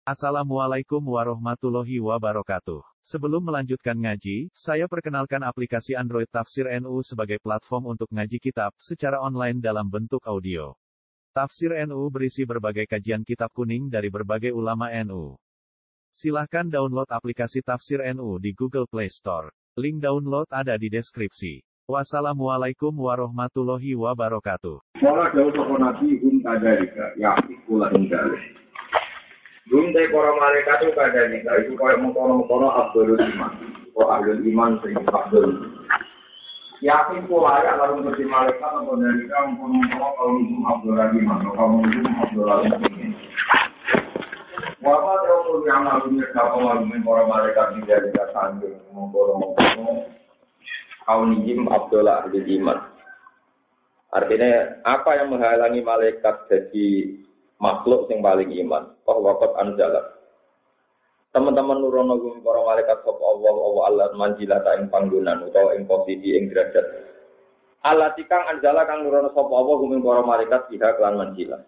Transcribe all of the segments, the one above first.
Assalamualaikum warahmatullahi wabarakatuh. Sebelum melanjutkan ngaji, saya perkenalkan aplikasi Android Tafsir NU sebagai platform untuk ngaji kitab secara online dalam bentuk audio. Tafsir NU berisi berbagai kajian kitab kuning dari berbagai ulama NU. Silahkan download aplikasi Tafsir NU di Google Play Store. Link download ada di deskripsi. Wassalamualaikum warahmatullahi wabarakatuh. Wala jauh sapa nabi kadalika ya ikulah dalil. Dunte para malaikat itu kadalika itu kaya mengkono-mengkono Abdul Iman. Abdul Iman sing Abdul. Yakin ku layak lalu menjadi malaikat apa dalika mengkono-mengkono kaum Abdul Iman atau kaum Abdul Iman. Wala jauh yang lalu menjadi para malaikat kadalika sandung mengkono-mengkono kaum Abdul Iman. Artinya, apa yang menghalangi malaikat jadi makhluk yang paling iman? Waqat anzala. Teman-teman nurono gum para malaikat sapa Allah manjilata ing panggonan utawa ing posisi ing derajat. Allah tikang anzala kang nurono sapa Allah gum para malaikat biha kelan manjilah.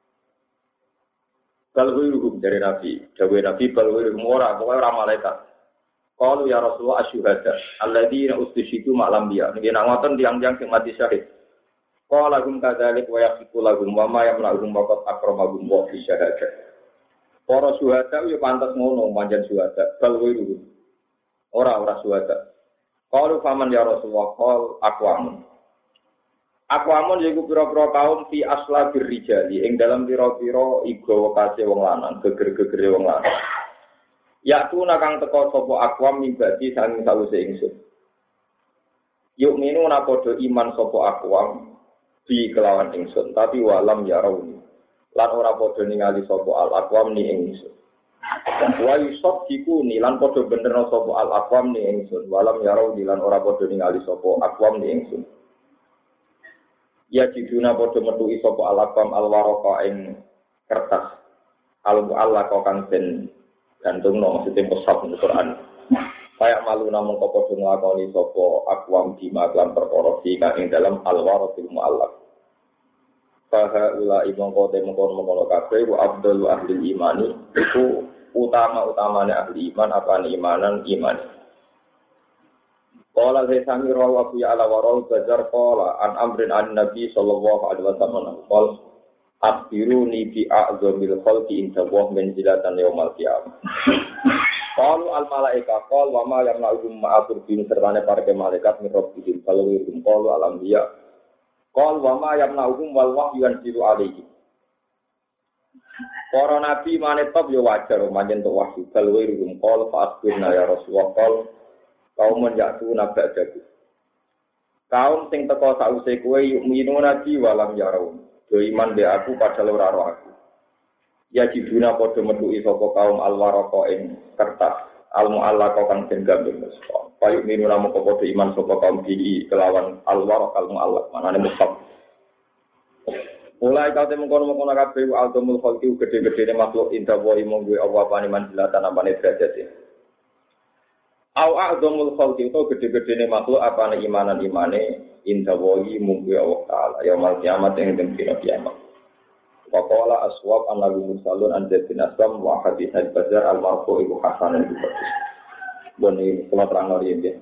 Balwiruhum dari Nabi, dawuh Nabi balwiruhum ora malaikat. Qalu ya Rasulullah asyhadu alladzina ustishidu ma'lam biya. Nggih nak ngoten tiyang-tiyang sing mati syahid. Qala lahum kadzalik wa yaqiqu lahum wa ma yamna'uhum waqad akramahum wa fi syahadah. Para syuhada yo pantes ngono manjen syuhada bal wiru. Ora syuhada. Qalu faman ya Rasulullah qal aqwamun. Aqwamun yaiku pira-pira kaum fi aslabir rijali ing dalam pira-pira iga kase wong lanang, geger-gegere wong lanang. Yaktu nakang teka sapa aqwam mibadi sang sawise ingsun. Yuk minu na padha iman sapa aqwam bi kelawan ingsun tapi walam ya rauni lan ora padha ningali sapa al-aqwam ni ingsun wa yusabbiku ni lan padha bener sapa al-aqwam ni ingsun walam ya rauni lan ora padha ningali sapa aqwam ni ingsun ya jiduna padha metuki sapa al-aqwam al-warqa ing kertas al-mu'allaq kang den gantungno maksudnya pesat di Quran kayak malu namung padha nglakoni sapa aqwam bima lan perkara kang ing dalam al-warqil mu'allaq faha ula mongko kabeh wa abdul ahli imani itu utama-utamane ahli iman apane imanan iman. Qala sami rawa fi ala warau bajar qala an amrin an nabi sallallahu alaihi wasallam qol akhbiruni bi a'zamil khalqi inda wa manzilatan yaumal qiyamah. Qalu al malaika qal wa ma yamna'uhum ma'atur bin sertane para malaikat mirobbihim kalau wirum qalu al anbiya qal wa ma yamna'uhum wal wahyu yanzilu alaihi. Para nabi manetop yo wajar manjen tok wahyu bal wirum qal fa asbirna ya Rasulullah qal kaum yatu nabadaku. Kaum sing teko sause kowe yuk minu nabi walam yarau. Do iman be aku padahal ora roh aku. Ya jiduna padha metuki sapa kaum al-warqa ing kertas al-mu'allaq kang den gambeng sapa. Payu minu namo padha iman sapa kaum iki kelawan al-warqa al-mu'allaq manane mustaq. Mulai kau temu kono kabeh al-dumul khalqi gede-gedene makhluk inda wa imong kuwi Allah pane manjilatan apane derajate. Au a'dhamul khalqi to gede-gedene makhluk apane imanan-imane inda wa imong kuwi Allah taala ya mal kiamat ing dina kiamat. Waqala aswab annahu musallun an bin aslam wa hadis al-bazar al-marfu ibu hasan al-bukhari. Boni kula terangno riyen.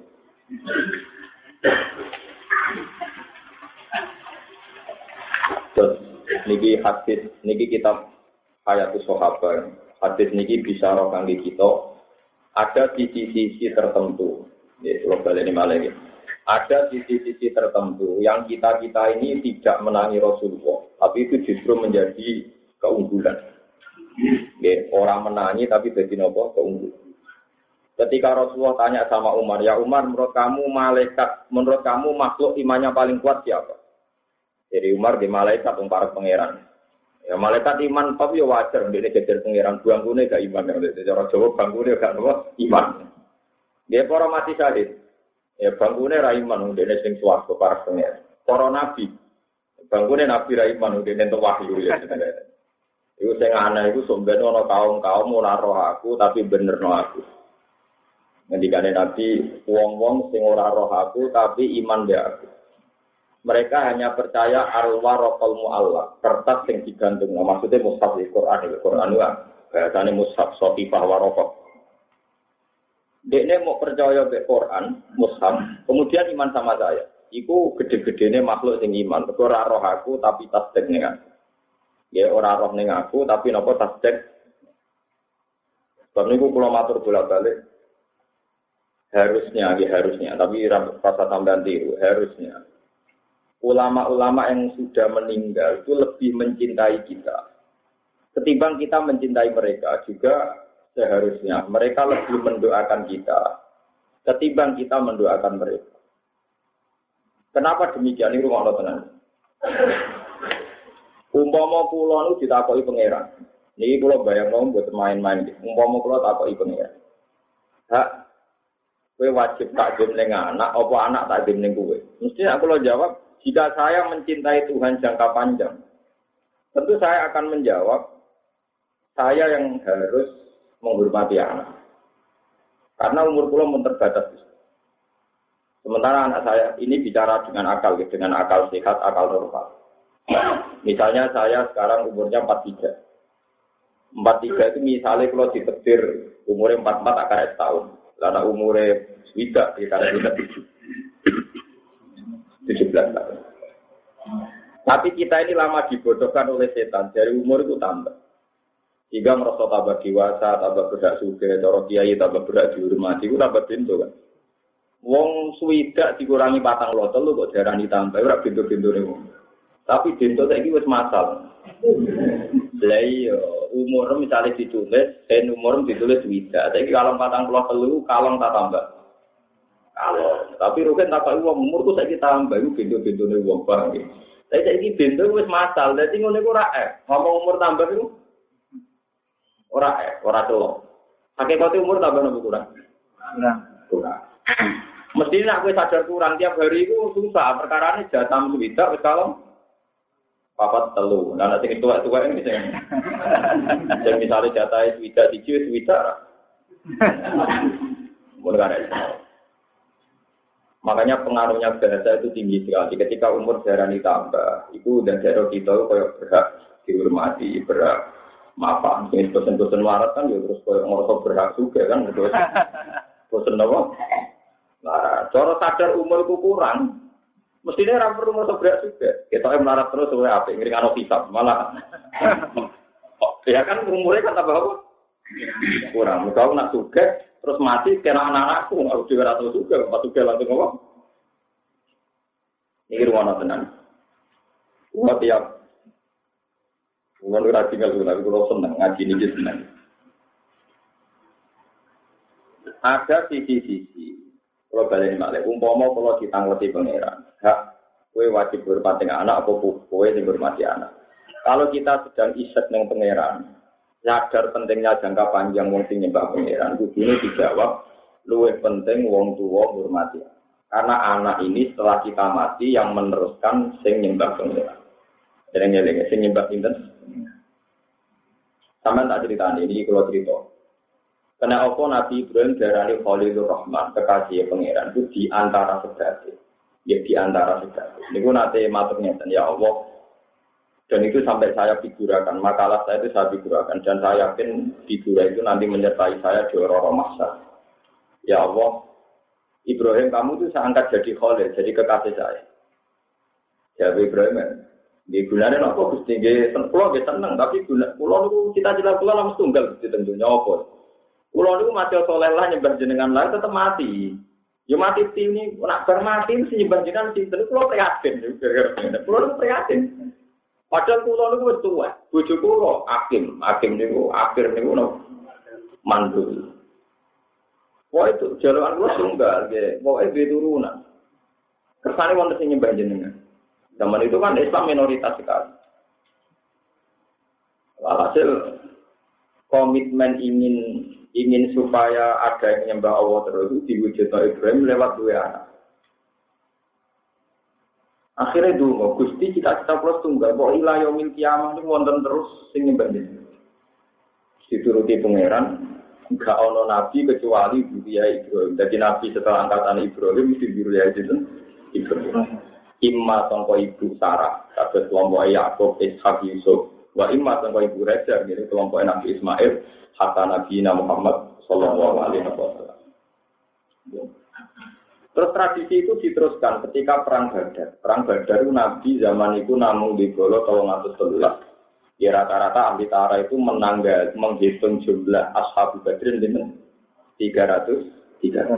Terus niki hadis niki kitab Hayatus Sahabat. Hadis niki bisa ro kangge kita ada sisi-sisi tertentu. Ya, kula baleni malih. Ada sisi-sisi tertentu yang kita ini tidak menangi Rasulullah, tapi itu justru menjadi keunggulan. Ya, orang menangi tapi jadi nopo keunggulan. Ketika Rasulullah tanya sama Umar, ya Umar, menurut kamu makhluk imannya paling kuat siapa? Jadi Umar di malaikat para pangeran. Ya malaikat iman tapi ya wajar, dia jajar pangeran bangkune gak iman. Cara Jawa bangkune gak nopo iman. Dia para mati syahid. Ya bangkune ra iman dene sing swarga para pangeran. Para nabi. Bangkune nabi ra iman dene entuk wahyu ya. Iku sing aneh iku sombene ana kaum-kaum ora roh aku tapi benerno aku. Ngendikane nabi wong-wong sing ora roh aku tapi iman be aku. Mereka hanya percaya al-warqal mu'allaq, kertas yang digantung. Maksudnya mushaf Al-Qur'an itu bahasane mushaf Sotifah Waraqah. Dekne mau percaya ke Quran, mushaf, kemudian iman sama saya. Iku gede-gedene makhluk sing iman. Kok ora roh aku tapi tasdek ning aku. Ya ora roh ning aku tapi napa tasdek. Sebab niku kula matur bolak-balik harusnya, tapi rasa tambahan tiru, harusnya. Ulama-ulama yang sudah meninggal itu lebih mencintai kita. Ketimbang kita mencintai mereka juga seharusnya. Mereka lebih mendoakan kita. Ketimbang kita mendoakan mereka. Kenapa demikian? Ini rumah Allah tenang. Umpama kula nu ditakoki pangeran. Niki kula bayangno buat main-main. Umpama kula takoki pangeran. Hak kowe wajib takdim ning anak, apa anak takdim ning kowe? Mesti aku lo jawab, jika saya mencintai Tuhan jangka panjang, tentu saya akan menjawab, saya yang harus menghormati anak. Karena umur kula mun terbatas. Sementara anak saya ini bicara dengan akal sehat, akal normal. Misalnya saya sekarang umurnya 43. 43 itu misalnya kalau ditekdir umurnya 44 akan setahun. Karena umurnya tidak, karena tidak 17 tahun. Tapi kita ini lama dibodohkan oleh setan, dari umur itu tambah. Jika merasa tambah dewasa, tambah berak suge, cara kiai tambah berak dihormati, itu tambah pintu kan. Wong swidak dikurangi 4 lu kok diarani tambah, ora pintu-pintune wong. Tapi pintu saiki wis masal. Lah iya, umur misalnya ditulis, umur ditulis swidak. Saiki kalau 43 kalong tak tambah. Kalau tapi rugen tak kok wong umurku saiki tambah iku pintu-pintune wong barang iki. Saiki pintu wis masal, dadi ngono iku ora ngomong umur tambah iku ora telok. Hakikate umur tambah nopo kurang? Kurang. Mesti nek kowe sadar kurang tiap hari iku susah, perkarane jatam swidak wis kalong 43. Nah nek sing tuwa-tuwa iki sing misale jatahe swidak siji swidak. Mun kare. Makanya pengaruhnya bahasa itu tinggi sekali. Ketika umur darah ditambah, itu udah darah kita kayak berhak dihormati, berhak maaf. Ini bosan-bosan warat kan, ya terus kayak ngorok berhak juga kan, terus bosan apa? Nah, cara sadar umur itu kurang, mestinya orang perlu ngorok berhak juga. Kita yang melarat terus, supaya apa? Ngerikan ofisat, malah. Ya kan umurnya kan tambah apa? Kurang. Kalau nak juga. Terus mati kena anak-anakku, aku juga rata juga, pas juga langsung ngomong. Ini rumah tenang. Buat tiap, bukan udah tinggal dulu, tapi kalau senang ngaji ini senang. Ada sisi-sisi, kalau balik malah, umpama kalau ditangguti pangeran, hak, kue wajib berhormati anak, apa kue yang berhormati anak. Kalau kita sedang isek dengan pangeran. Sadar pentingnya jangka panjang wong sing nyembah pangeran kudune dijawab luwih penting wong tuwa hormati. Karena anak ini setelah kita mati yang meneruskan sing nyembah pangeran. Eling-eling sing nyembah pinten? Sampeyan tak critani iki kula crito. Kena apa Nabi Ibrahim darani Khalilur Rahman, kekasih pangeran itu di antara sedaya. Ya di antara sedaya. Niku nate matur ngeten ya Allah. Dan itu sampai saya figurakan, makalah saya itu saya figurakan. Dan saya yakin figura itu nanti menyertai saya di orang-orang masa. Ya Allah, Ibrahim kamu itu saya angkat jadi khalil, jadi kekasih saya. Ya Ibrahim, di gunanya apa? Gusti pulau seneng, tapi pulau itu cita-cita pulau langsung tunggal di tentunya apa? Pulau itu mati soleh lah nyembah jenengan lain tetap mati. Ya mati ini nak bermati mesti nyembah jenengan sih. Terus pulau prihatin, pulau itu prihatin. Padahal kula niku wis tuwa. Bojo kula Hakim niku akhir niku mandul. Wah itu jalan kula tunggal nggih. Pokoke duwe turunan. Kersane wonten sing nyembah jenengan. Zaman itu kan Islam minoritas sekali. Walhasil komitmen ingin supaya ada yang menyembah Allah terus diwujudkan Ibrahim lewat dua anak. Akhirnya dulu, Gusti cita-cita plus tunggal, kok ilah yaumil kiamah itu wonten terus sing nyembah jenengan. Dituruti pangeran, enggak ono nabi kecuali Buria Ibrahim. Jadi nabi setelah angkatan Ibrahim mesti Buria Ibrahim. Imma sangka ibu Sarah, kados kelompok Yakub, Ishak, Yusuf, Wa imma tangko ibu raja gitu kelompok Nabi Ismail hatta Nabi Muhammad sallallahu alaihi wasallam. Terus tradisi itu diteruskan ketika perang Badar. Perang Badar itu Nabi zaman itu namung di Golo 313. Ya rata-rata ahli tara itu menghitung jumlah ashab Badrin dengan 300.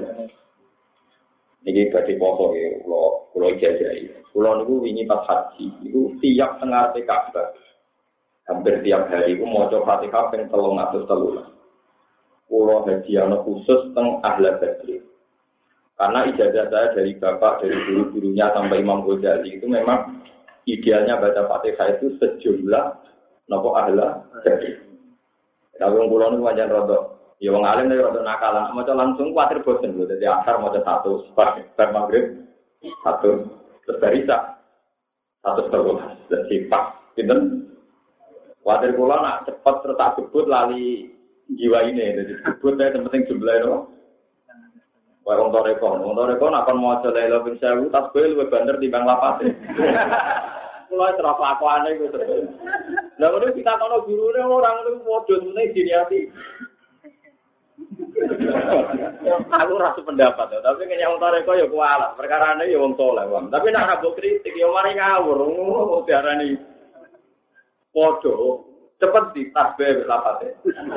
Niki badhe poso ya kula jajahi. Kula niku wingi pas haji niku tiap tengah Ka'bah. Hampir tiap hari iku maca Fatihah ping 313. Kula hadiah khusus teng Ahli Badri. Karena ijazah saya dari bapak, dari guru-gurunya sampai Imam Ghazali itu memang idealnya baca Fatihah itu sejumlah napa Ahli Badri. Tapi wong kula niku pancen rada ya wong alim nek rada nakalan, maca langsung kuwatir bosen lho. Dadi asar maca 100, bar maghrib 1, terus barisa 112. Dadi pas pinten wadir kula nak cepet terus tak gebut lali jiwa ini, jadi gebut saya penting jumlah itu. Wah wong toreko nak kon maca la ilaha illallah tasbih luwih banter timbang lapate. Kula terus lakuane iku terus. Lah ngono kita kono gurune orang itu modho meneh diniati. Aku rasa pendapat tapi kayaknya wong toreko ya kualat, perkarane ya wong saleh, Bang. Tapi nak rabuk kritik ya mari ngawur, ngono diarani podo cepet di tasbih lapate.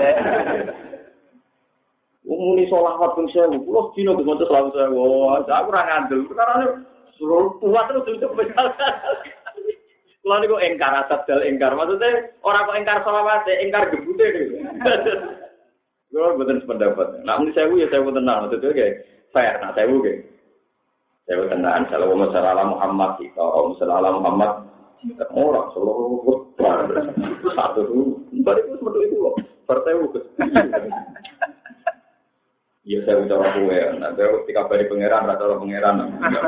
Umuni sholawat pun saya, pulau dino dengan selalu saya. Wah, aku ora ngandel. Karena suruh kuat terus cepet. Kalau ni kok engkar asal engkar, maksudnya orang kok engkar sholawat, engkar gebute ni. Kalau betul sependapat. Nak muni saya ya saya tenang, maksudnya kayak fair. Nak saya saya tenang. Kalau masalah Muhammad kita, masalah Muhammad orang seluruh satu dulu, balik itu seperti itu loh. Partai itu. Iya saya udah aku ya. Nanti ketika balik pangeran, rata pangeran.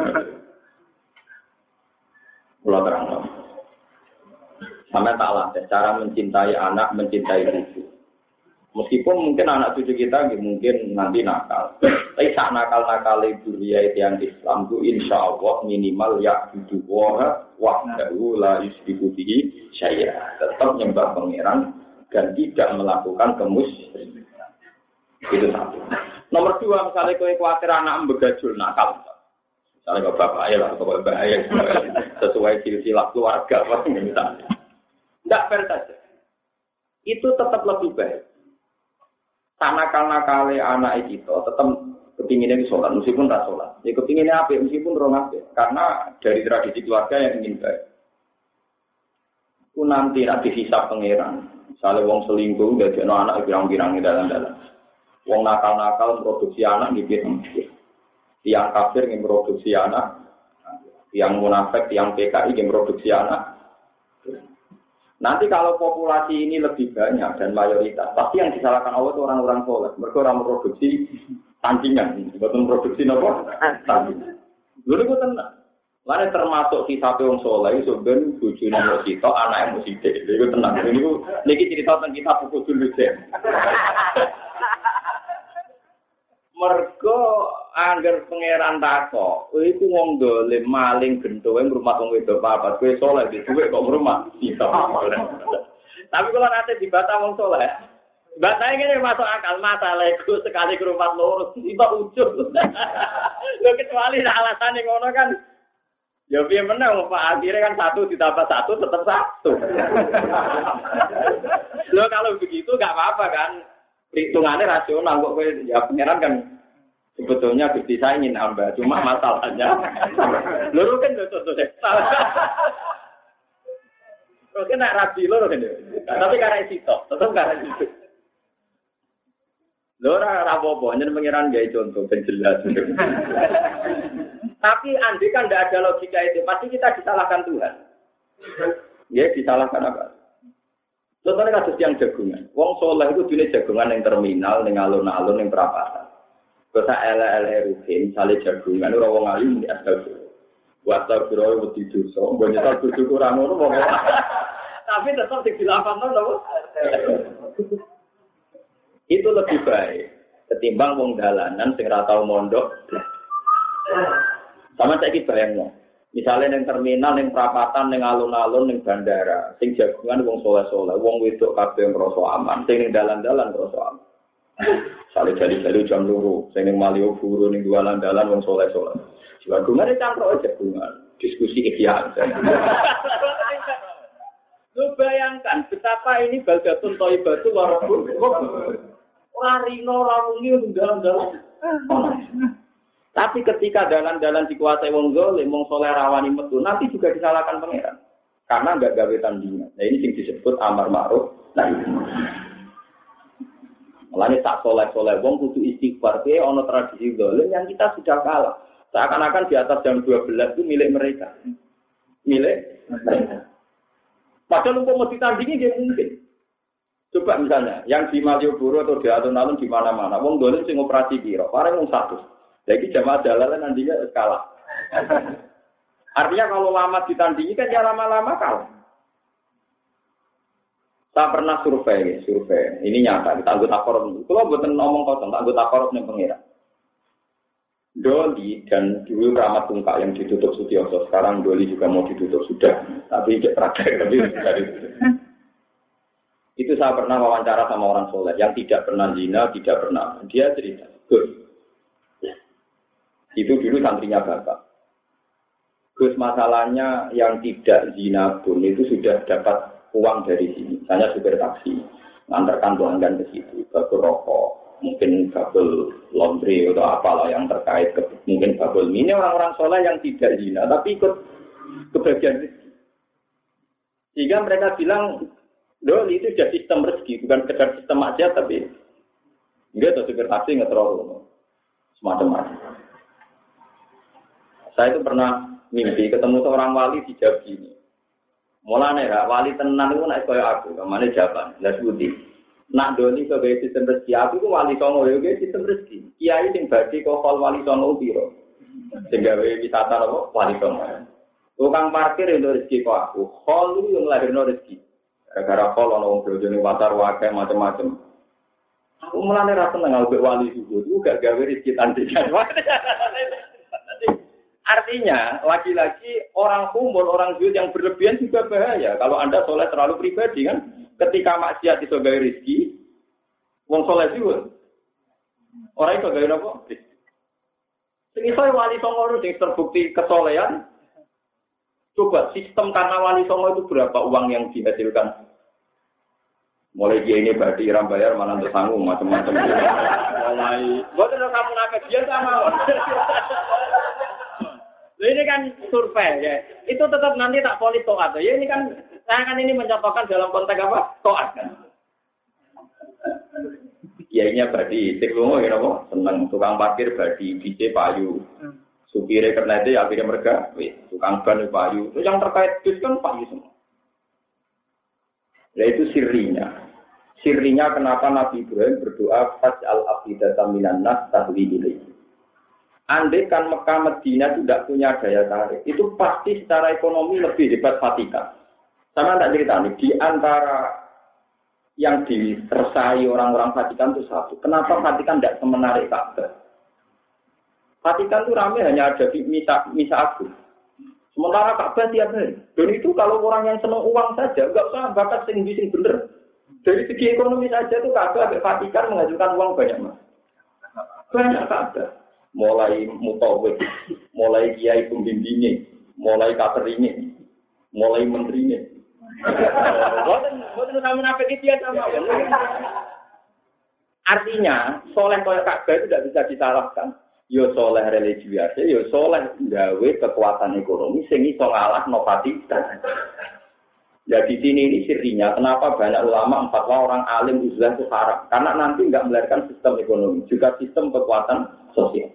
Pulau terang loh. Sampai tak latih cara mencintai anak, mencintai cucu. Meskipun mungkin anak cucu kita mungkin nanti nakal. Tapi saat nakal-nakal duriya yang Islam itu insya Allah minimal ya hidup wahdahu la yusyriku bihi syai'a. Tetap nyembah pangeran dan tidak melakukan kemusyrikan. Itu satu. Nomor 2, misalnya kowe kuwatir anak begajul nakal. Misalnya bapak ayah atau bapak ayah sesuai silsilah keluarga misalnya. Tidak fair saja. Itu tetap lebih baik. Nakal-nakale anak itu tetap kepinginnya sholat, meskipun tak sholat. Ya kepinginnya apa? Meskipun orang apa? Karena dari tradisi keluarga yang ingin baik. Ku nanti dihisab pangeran. Misalnya wong selingkuh, jadi anak pirang-pirang di dalam-dalam. Wong nakal-nakal produksi anak di pirang-pirang. Tiang kafir yang produksi anak, tiang munafik, tiang PKI yang produksi anak. Nanti kalau populasi ini lebih banyak dan mayoritas, pasti yang disalahkan Allah itu orang-orang soleh. Mereka orang memproduksi tandingan, bukan produksi apa? Tandingan. Dulu itu tenang. Lainnya termasuk kisah orang soleh, sebenarnya bujuni musik, anak yang musik. Itu tenang. Ini cerita tentang kita pukul dulu deh. Mergo angger pangeran tako, iku wong dolim maling gendowe rumah wong wedok papat, kowe saleh di dhuwit kok rumah. Tapi kalau nanti dibata wong saleh, batane ngene masuk akal masalah iku sekali ke rumah loro tiba ujug. Lho kecuali alasane ngono kan. Ya piye menang Pak, akhirnya kan 1 ditambah 1 tetap 1. Lho kalau begitu enggak apa-apa kan. Hitungannya rasional kok ya pangeran kan sebetulnya Gusti saya ingin nambah cuma masalahnya loro kan contoh deh oke nak rabi loro kan tapi karena itu tetap karena itu loro rapopo nyen pangeran gawe contoh ben jelas tapi andai kan tidak ada logika itu pasti kita disalahkan Tuhan ya disalahkan apa. Contohnya kasus yang jagungan. Wong soleh itu dunia jagungan yang terminal, yang alun-alun, yang perapatan. Bisa LLRUhin, misalnya jagungan, itu orang alim di asal-asal. Buat asal-asal itu dosa, banyak asal-asal kurang, tapi tetap dilakukan, itu lebih baik. Ketimbang wong dalanan, sing ratau mondok. Sama saya bayangnya. Misalnya ning terminal, ning perapatan, ning alun-alun, ning bandara, sing jagungan wong soleh-soleh, wong wedok kabeh ngrasa aman, sing ning dalan-dalan ngrasa aman. Sale jali-jali jam loro, sing ning Malioboro ning dalan-dalan wong soleh-soleh. Jagungan campur jagungan, diskusi ikhya. Lu bayangkan betapa ini baldatun thayyibatu wa rabbul ora rino ora wengi ning dalan-dalan. Tapi ketika dalan-dalan dikuasai wong zalim, wong saleh rawani metu, nanti juga disalahkan pangeran. Karena enggak gawe tandingan. Nah ini sing disebut amar ma'ruf nahi munkar. Mulane tak saleh-saleh wong kudu istighfar, ke ana tradisi zalim yang kita sudah kalah. Seakan-akan di atas jam 12 itu milik mereka. Milik mereka. Padahal umpama ditandingi dia mungkin. Coba misalnya, yang di Malioboro atau di alun-alun di mana-mana, wong zalim sing operasi piro? Paling wong 100. Jadi jamaah jalalan nantinya kalah. Artinya kalau lama ditandingi kan ya lama-lama kalah. Saya pernah survei. Ini nyata, kita anggota korup. Kalau buatan ngomong kosong, anggota korup yang pengira. Doli dan dulu Rahmat Tungkak yang ditutup Sutioso, sekarang Doli juga mau ditutup sudah. Tapi tidak terakhir. Itu saya pernah wawancara sama orang soleh yang tidak pernah zina, tidak pernah. Dia cerita, Gus. Itu dulu santrinya Bapak. Gus, masalahnya yang tidak zina pun itu sudah dapat uang dari sini. Misalnya supir taksi, mengantarkan pelanggan ke situ, babel rokok, mungkin babel laundry atau apalah yang terkait, mungkin babel ini orang-orang soleh yang tidak zina, tapi ikut kebagian rezeki. Sehingga mereka bilang, Dol itu sudah sistem rezeki, bukan sekedar sistem aja, tapi enggak atau supir taksi nggak terlalu semacam-macam. Saya itu pernah mimpi ketemu seorang wali di Jawa ini. Mulane ya, wali tenan itu naik kaya aku, kemana jawaban, jelas budi. Nak doni sebagai sistem rezeki, aku itu wali songo, ya sistem rezeki. Kiai sing badi kohol wali songo biro. Sehingga wisata apa? Wali songo. Tukang parkir itu rezeki kok aku, hol itu yang lahirno rezeki. Gara-gara hol ana wong bojone watar wae macam-macam. Aku mulane ra seneng ambek wali juga, itu gak gawe rezeki tandingan. Artinya, lagi-lagi orang umur, orang zuhud yang berlebihan juga bahaya. Kalau Anda soleh terlalu pribadi kan, ketika maksiat itu gawe rezeki, wong soleh zuhud. Orang itu gawe apa? Sing iso wali songo sing terbukti kesolehan. Coba sistem karena wali songo itu berapa uang yang dihasilkan? Mulai dia ini berarti iram bayar mana tersanggung macam-macam. Mulai, buat kamu nakes dia sama. Ini kan survei ya. Itu tetap nanti tak polis toat. Ya ini kan saya kan ini mencontohkan dalam konteks apa? Toat kan. Kiainya badi, teknologi ya apa? Seneng tukang parkir badi, DJ payu. Supire karena itu akhirnya mereka, tukang ban payu. Itu yang terkait bis kan payu semua. Ya itu sirinya. Sirinya kenapa Nabi Ibrahim berdoa faj'al afidatan minan nas tahwi ilaihi. Andai kan Mekah Medina tidak punya daya tarik, itu pasti secara ekonomi lebih hebat Vatikan. Sama tak cerita nih, di antara yang diresai orang-orang Vatikan itu satu. Kenapa Vatikan tidak semenarik Ka'bah? Vatikan itu ramai hanya ada di misa agung. Sementara Ka'bah tiap hari. Dan itu kalau orang yang senang uang saja, nggak usah bakat sing bener. Dari segi ekonomi saja itu Ka'bah Vatikan menghasilkan uang banyak mas. Banyak Ka'bah. Mulai mutawif, mulai kiai pembimbingnya, mulai kateringnya, mulai menterinya. Boten sama nafik itu sama. Artinya, soleh kaya Ka'bah itu tidak bisa disalahkan. Yo soleh religius, yo soleh gawe kekuatan ekonomi sing iso ngalahno Vatikan. Jadi sini ini sirinya, kenapa banyak ulama fatwa orang alim uzlah itu haram? Karena nanti nggak melahirkan sistem ekonomi, juga sistem kekuatan sosial.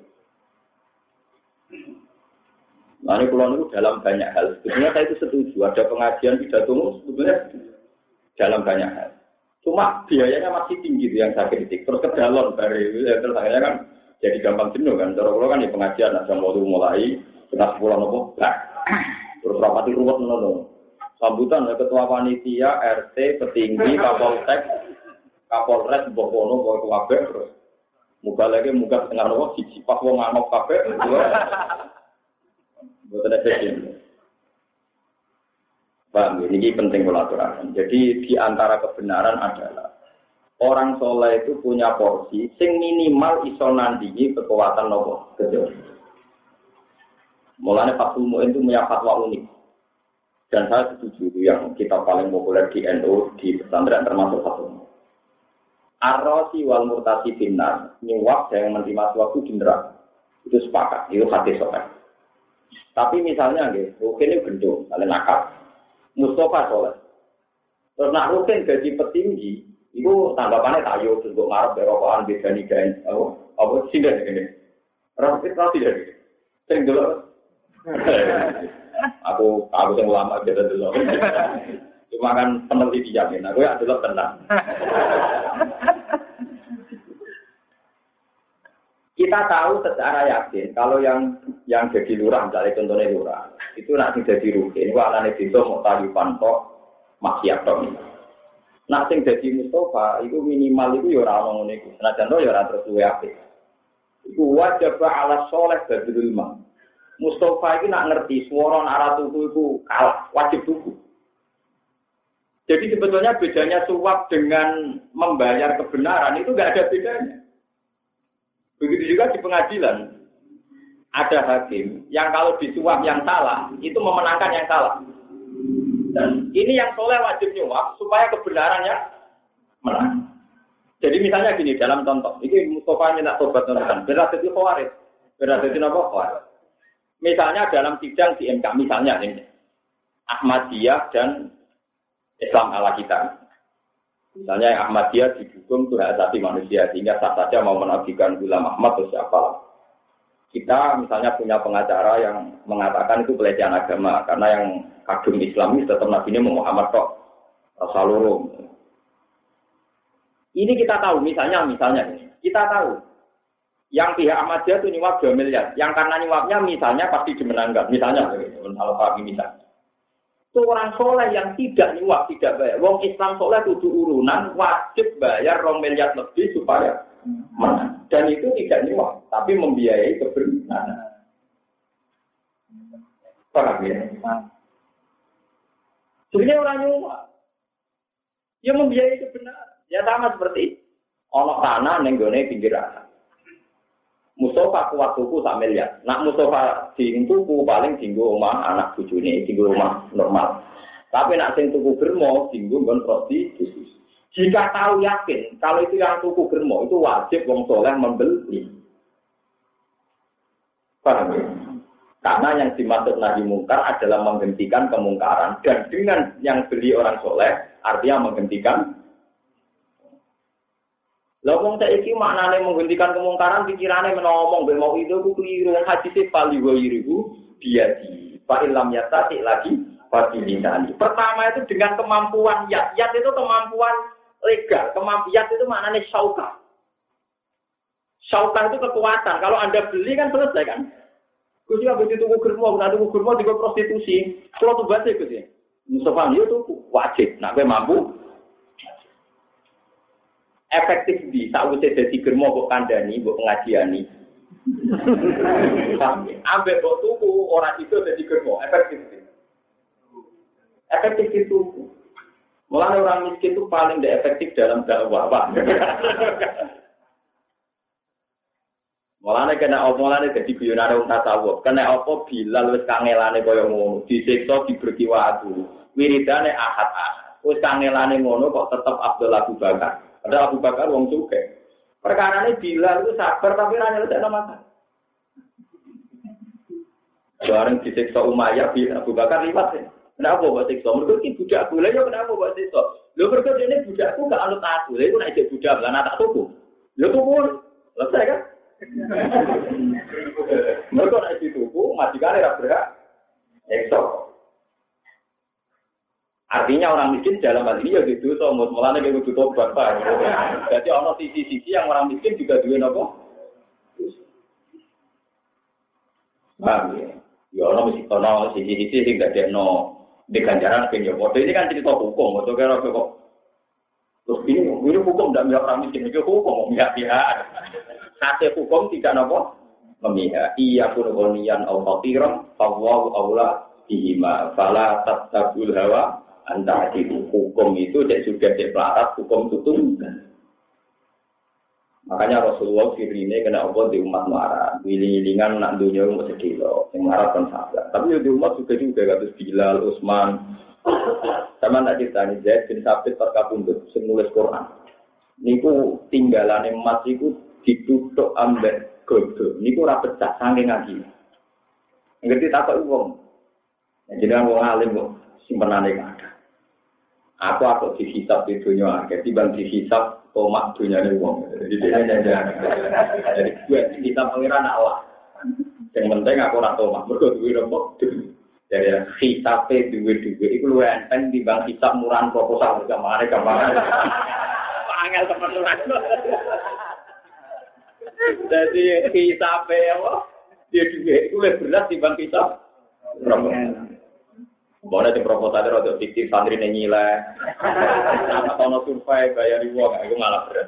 Nah ini pulau itu dalam banyak hal. Sebetulnya saya itu setuju. Ada pengajian pidato sebetulnya dalam banyak hal. Cuma biayanya masih tinggi yang saya kritik. Terus kedalon dari terus akhirnya kan jadi gampang jenuh kan. Terus kan di pengajian ada mulai setengah 10 nopo. Terus rapati ruwet nopo. Sambutan ketua panitia, RT, petinggi, Kapolsek, Kapolres, Bokono, Bokono, terus. Muga lagi muga setengah nopo. Siji pas wong nganggok kabeh. Mboten efektif. Paham, ini penting kolaborasi. Jadi di antara kebenaran adalah orang soleh itu punya porsi sing minimal iso nandingi kekuatan nopo kejauhan. Mulanya Fathul Mu'in itu punya fatwa unik. Dan saya setuju itu yang kita paling populer di NU, di pesantren termasuk Fathul Mu'in. Ar-Rasi wal Murtasi binar, nyuap yang menerima suatu di neraka. Itu sepakat, itu hadis soleh. Tapi misalnya, Rukin ini gendong, kalian nakal. Mustafa soleh. Terus nak Rukin gaji petinggi, itu tanggapannya tayo, terus gue ngarep berokokan beda nigain. Apa sih ini? Rukin tahu tidak? Sering dulu. Aku yang ulama beda dulu. Cuma kan peneliti dijamin, aku ya dulu tenang. Kita tahu secara yakin kalau yang jadi lurah, misalnya contohnya lurah, itu nanti jadi rutin. Itu anaknya itu mau tahu pantok maksiat dong. Nah, yang jadi Mustafa itu minimal itu ya orang ngomong itu. Nah, contoh ya orang terus luwe apik. Itu wajib ala soleh badrul ilm. Mustafa itu nak ngerti suara arah tubuh itu kalah, wajib tubuh. Jadi sebetulnya bedanya suap dengan membayar kebenaran itu nggak ada bedanya. Begitu juga di pengadilan. Ada hakim yang kalau disuap yang salah, itu memenangkan yang salah. Dan ini yang soleh wajib nyuap supaya kebenarannya menang. Jadi misalnya gini, dalam contoh, ini Mustafa nyenak tobat nonton, berarti itu khawarij. Berarti itu apa? Khawarij. Misalnya dalam sidang di MK, misalnya ini, Ahmadiyah dan Islam ala kita. Misalnya Ahmadiyah didukung itu hak asasi manusia, sehingga sah saja mau menabdikan Ghulam Ahmad atau siapa. Kita misalnya punya pengacara yang mengatakan itu pelecehan agama, karena yang kagum Islamis tetap Nabi Muhammad kok Rasulullah. Ini kita tahu, misalnya kita tahu yang pihak Ahmadiyah itu nyuap 2 miliar, yang karena nyuapnya misalnya pasti dimenangkan, misalnya kalau kami misalnya. Itu orang soleh yang tidak nyuap, tidak bayar. Wong Islam soleh kudu urunan, wajib bayar 2 miliar lebih supaya menang. Dan itu tidak nyuap, tapi membiayai kebenaran. Paham ya? Sebenarnya orang nyuap, dia membiayai kebenaran. Ya sama seperti ono tanah nenggone pinggir anak. Mustafa kuat tuku 1 miliar. Nak Mustafa sing tuku paling dinggo omah anak bojone, dinggo omah normal. Tapi nak sing tuku germo dinggo nggon prostitusi. Jika tahu yakin kalau itu yang tuku germo itu wajib wong soleh membeli. Paham ya? Karena yang dimaksud nahi mungkar adalah menghentikan kemungkaran, dan dengan yang beli orang soleh artinya menghentikan. Lah wong saiki maknane menghentikan kemungkaran pikirane menawa mbek mau itu ku keliru hadis pali wa yiribu biadi. Fa illam yatati lagi fatilinani. Pertama itu dengan kemampuan yat itu kemampuan legal, yat itu maknane syauka. Syauka itu kekuatan. Kalau Anda beli kan selesai kan? Gus ya begitu tuku germo, nek tuku germo juga prostitusi. Kalau tuh baca Gus ya. Mustafa itu wajib, nek mampu efektif di sakwise dadi germo kok kandhani, kok pengajiani. Ambek kok tuku ora itu dadi germo, efektif. Efektif itu. Mulane orang miskin itu paling tidak efektif dalam dakwah, Pak. Mulane kena omongane dadi guyonane wong tasawuf. Kena apa Bilal wis kangelane kaya ngono, disiksa diberki waktu. Wiridane ahad-ahad. Wis kangelane ngono kok tetep Abdul Abu Bakar. Ada Abu Bakar wong suke. Perkarane Bilal itu sabar tapi ra nyelesekno masalah. Bareng disiksa Umayyah bin Abu Bakar liwat. Kenapa kok siksa? Mergo iki budakku. Lha yo kenapa kok siksa? Lho mergo dene budakku gak anut aku. Lha iku nek jek budak lan tak tuku. Lho tuku. Selesai kan? Mergo nek dituku majikane ra berhak. Siksa. Artinya orang miskin dalam hal ini ya gitu, so mulanya kayak gitu tobat Pak. Jadi ono sisi-sisi yang orang miskin juga duwe apa? Paham ya? Ya ono sisi-sisi sing gak deno diganjaran ben yo. Ini kan cerita hukum, atau kira kok. Terus ini hukum ndak miyak orang miskin, itu hukum miyak-miyak. Sate hukum tidak apa? memiha iya pun ghaniyan aw faqiran fawwa aula bihima fala tatabul hawa anta itu hukum itu sudah deklarat hukum tutung. Makanya Rasulullah firine kena apa di umat marah, wiling-wilingan nak dunia mau sedih loh, yang marah kan sabar. Tapi di umat juga kados Bilal, Utsman. Sama nak ditanya Zaid bin Sabit terkabundut, nulis Quran. Niku tinggalane emas iku dituthuk ambek godho. Niku ora pecah saking ngaji. Ngerti takok wong. Jenengan wong alim kok simpenane kathah. Aku dihisab di dunia akhir, timbang dihisab tomak dunyane wong. Jadi jadi gue kita pengiran Allah. Yang penting aku ora tomak, mergo duwe rempok. Jadi hisabe duwe-duwe iku luwih enteng timbang hisab murahan proposal gamane. Angel teman-teman. Jadi hisabe apa? Dia duwe iku luwih berat timbang hisab proposal. Boleh di proposal itu fiktif santri nyilai, nama tono survei bayar uang, itu malah berat.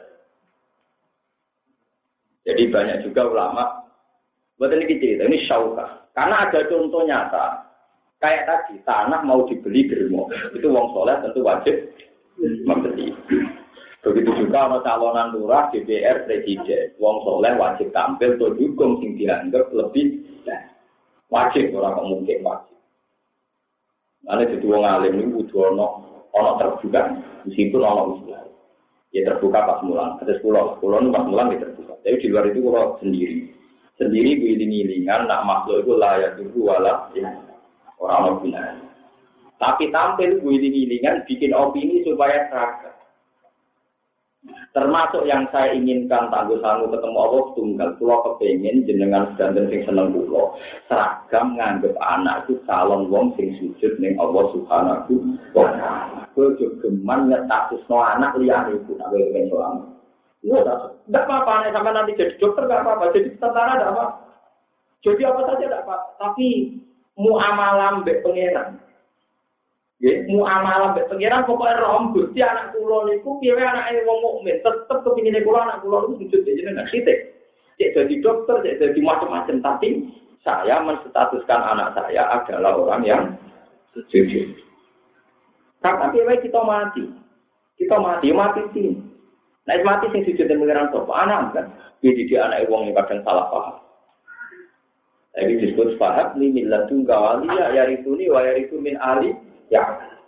Jadi banyak juga ulama, buat ini cerita, ini syauka. Karena ada contoh nyata, kayak tadi tanah mau dibeli germo, itu wong soleh tentu wajib membeli. Begitu juga ada calonan lurah, DPR, presiden, wong soleh wajib tampil untuk dukung sing dianggap lebih wajib orang mungkin wajib. Ada jadi wong alim ini butuh ono terbuka, meskipun ono usul. Ya terbuka pas mulang, ada pulau itu pas mulang ya terbuka. Tapi di luar itu kalau sendiri giling-gilingan, nak makhluk itu layak dulu wala ya orang benar. Tapi tampil giling-gilingan bikin opini supaya seragam. Termasuk yang saya inginkan tangguh-tangguh ketemu Allah tunggal. Pulau kepengen jenengan sedanten sing seneng pulau. Seragam nganggep anak itu calon wong sing sujud ning Allah Subhanahu wa taala. Kudu geman nyetatusno anak liyane iku nek ben soal. Enggak apa-apa nek sampean nanti jadi dokter enggak apa-apa, jadi tentara enggak apa. Jadi apa saja enggak apa. Tapi muamalah mbek pangeran. Nggih, muamalah mbek pangeran pokoke rom Gusti anak kula niku piye anake wong mukmin, tetep kepingine kula anak kula niku sujud jenengan titik. Cek jadi dokter, cek jadi macam-macam, tapi saya menstatuskan anak saya adalah orang yang sujud. Karena piye kita mati. Kita mati sih. Nek mati sing sujud ning pangeran sapa anak kan. Jadi anak wong yang kadang salah paham. Jadi disebut fahab ni millatun kawaliya yarituni wa yaritu min ali ya,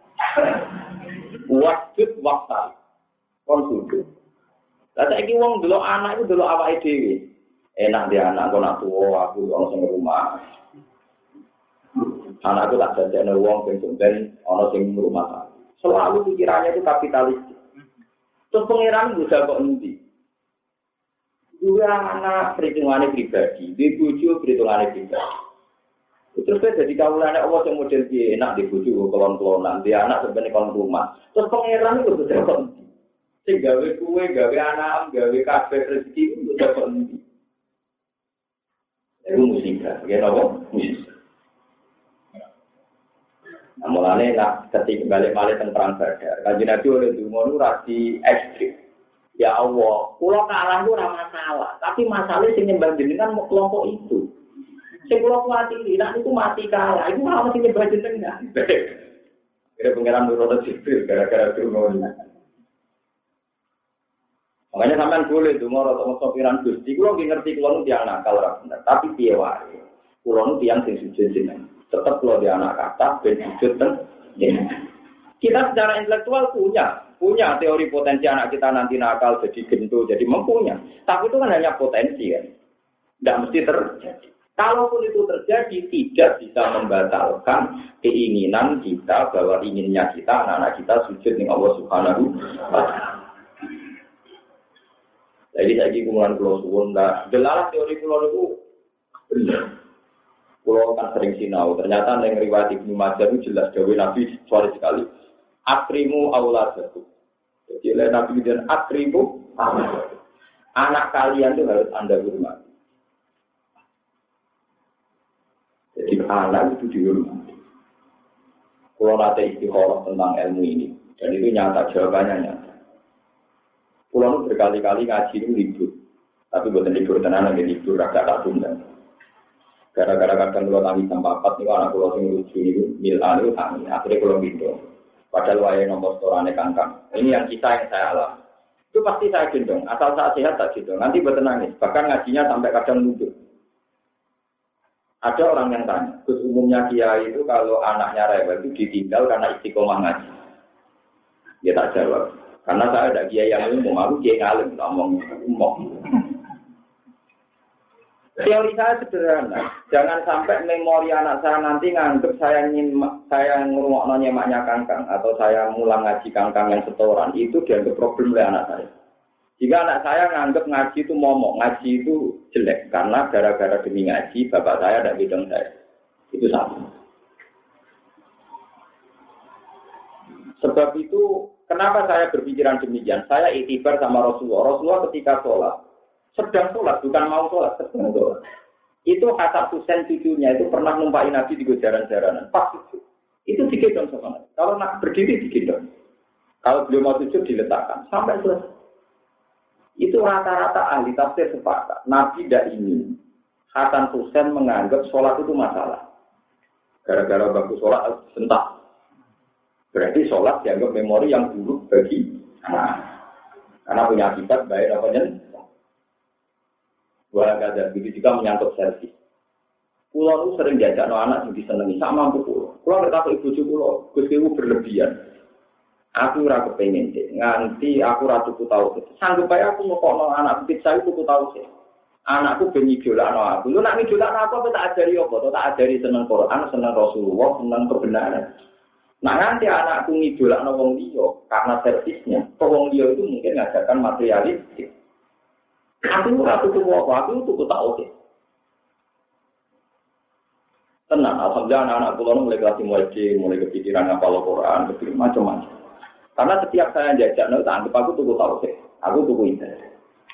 wajib waktu konsumsi. Lalu lagi wong dulu anak itu dulu awake dhewe. Enak dia anak kok nak tuwa aku ono sing rumah. Anakku tak jajane wong ben ono sing rumah. Selalu pikirannya itu kapitalis. Terus pengiran bisa kok endi? Dua anak perhitungannya pribadi, di bojo perhitungannya pribadi. Terus jadi kawulane Allah yang model piye enak di bojo kelon-kelonan, dia anak sebenarnya kon rumah. Terus pangeran itu sudah kon. Sing gawe kuwe, gawe anak, gawe kabeh rezeki itu sudah kon. Itu musibah, ya apa? Musibah. Nah, mulane nak ketika balik-balik tentang badar, kanjeng Nabi oleh dungo rasi ekstrim. Ya Allah, kula kalah itu ora masalah, tapi masalahnya sing nyembah jenengan mau kelompok itu. Sing kula kuwatiri, nek niku mati kalah, iku ora mesti nyembah jenengan. Kira pengiran nurut sipil gara-gara dungo. Makanya sampean boleh donga rata sopiran Gusti, kula ngerti kula nu tiyang nakal ora bener, tapi piye wae. Kula nu tiyang sing sujud jenengan. Tetap kula di anak kata ben sujud ten jenengan. Kita secara intelektual punya teori potensi anak kita nanti nakal jadi gento jadi mempunyai. Tapi itu kan hanya potensi kan. Tidak mesti terjadi. Kalaupun itu terjadi tidak bisa membatalkan keinginan kita bahwa inginnya kita anak-anak kita sujud dengan Allah Subhanahu wa taala. Jadi saiki kumulan kula suwun ndak delalah teori kula niku bener. Kula kan sering sinau, ternyata ning riwayat Ibnu Majah itu jelas dawuh Nabi suara sekali. Akrimu auladakum. Jadi oleh Nabi dan akrimu anak kalian itu harus Anda hormati. Jadi anak itu dihormati. Kalau nanti istikharah tentang ilmu ini, dan itu nyata, jawabannya nyata. Kalau berkali-kali ngaji itu libur, tapi bukan libur tenan lagi libur agak tak tunda. Gara-gara kadang kalau tangi jam 4 niku anak kula sing lucu niku milan niku tangi. Akhire kula gendong. Padahal wae nomor storane kangkang. Ini yang saya alami. Itu pasti saya gendong. Asal saya sehat tak gendong. Nanti buat nangis. Bahkan ngajinya sampai kadang nunduk. Ada orang yang tanya, Gus umumnya kiai itu kalau anaknya rewel itu ditinggal karena istiqomah ngaji. Dia tak jawab. Karena saya ada kiai yang umum, aku kiai ngalim, ngomong umum. Teori saya sederhana, jangan sampai memori anak saya nanti nganggep saya ngurungokno nyemaknya kangkang atau saya mulang ngaji kangkang yang setoran itu dianggap problem oleh anak saya. Jika anak saya nganggep ngaji itu momok, ngaji itu jelek karena gara-gara demi ngaji bapak saya dan bidang saya itu sama. Sebab itu kenapa saya berpikiran demikian? Saya iktibar sama Rasulullah. Rasulullah ketika sholat sedang sholat, bukan mau sholat, sedang sholat. Itu Hasan Husain cucunya itu pernah numpain Nabi di jaran-jaranan. Pas itu digendong sama Nabi. Kalau nak berdiri digendong. Kalau beliau mau sujud diletakkan sampai selesai. Itu rata-rata ahli tafsir sepakat. Nabi tidak ingin Hasan Husain menganggap sholat itu masalah. Gara-gara bagus sholat sentak. Berarti sholat dianggap memori yang buruk bagi anak. Karena punya akibat baik namanya. Wah, ada begitu juga menyangkut selfie. Pulau itu sering diajak anak yang disenangi sama mampu pulau. Pulau berkata ibu pulau, Gus Dewu berlebihan. Aku ora kepengin sih, nganti aku ora tuku tau sih. Sanggup ae aku ngokokno anak pit saya tuku tau sih. Anakku ben idolakno aku. Lu nak idolakno aku tak ajari apa? Tak ajari seneng Quran, seneng Rasulullah, seneng kebenaran. Nah nanti anakku ngidolakno wong liya karena servisnya. Wong liya itu mungkin ngajarkan materialistik. Aku ora tuku apa, aku tuku tau sih. Tenang, alhamdulillah anak-anak kula mulai kelas mulai kepikiran ngapal Quran, kepikiran macam-macam. Karena setiap saya jajak, tak anggap aku tuku tauhid, aku tuku ibadah.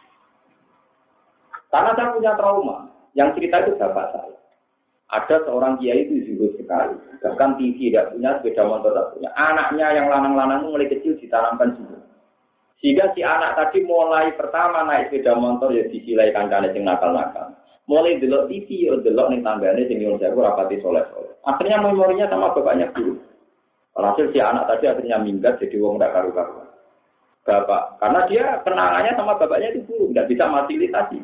Karena saya punya trauma, yang cerita itu bapak saya. Ada seorang kiai itu zuhud sekali, bahkan TV tidak punya, sepeda motor tidak punya. Anaknya yang lanang-lanang itu mulai kecil ditanamkan zuhud. Sehingga si anak tadi mulai pertama naik sepeda motor ya disilai kancane sing nakal-nakal. Mulai delok TV, delok ning tanggane sing nyuwun sewu rapati soleh-soleh. Akhirnya memorinya sama bapaknya dulu. Alhasil si anak tadi akhirnya minggat jadi wong ndak karu-karuan. Bapak, karena dia kenangannya sama bapaknya itu buruk, nggak bisa fasilitasi.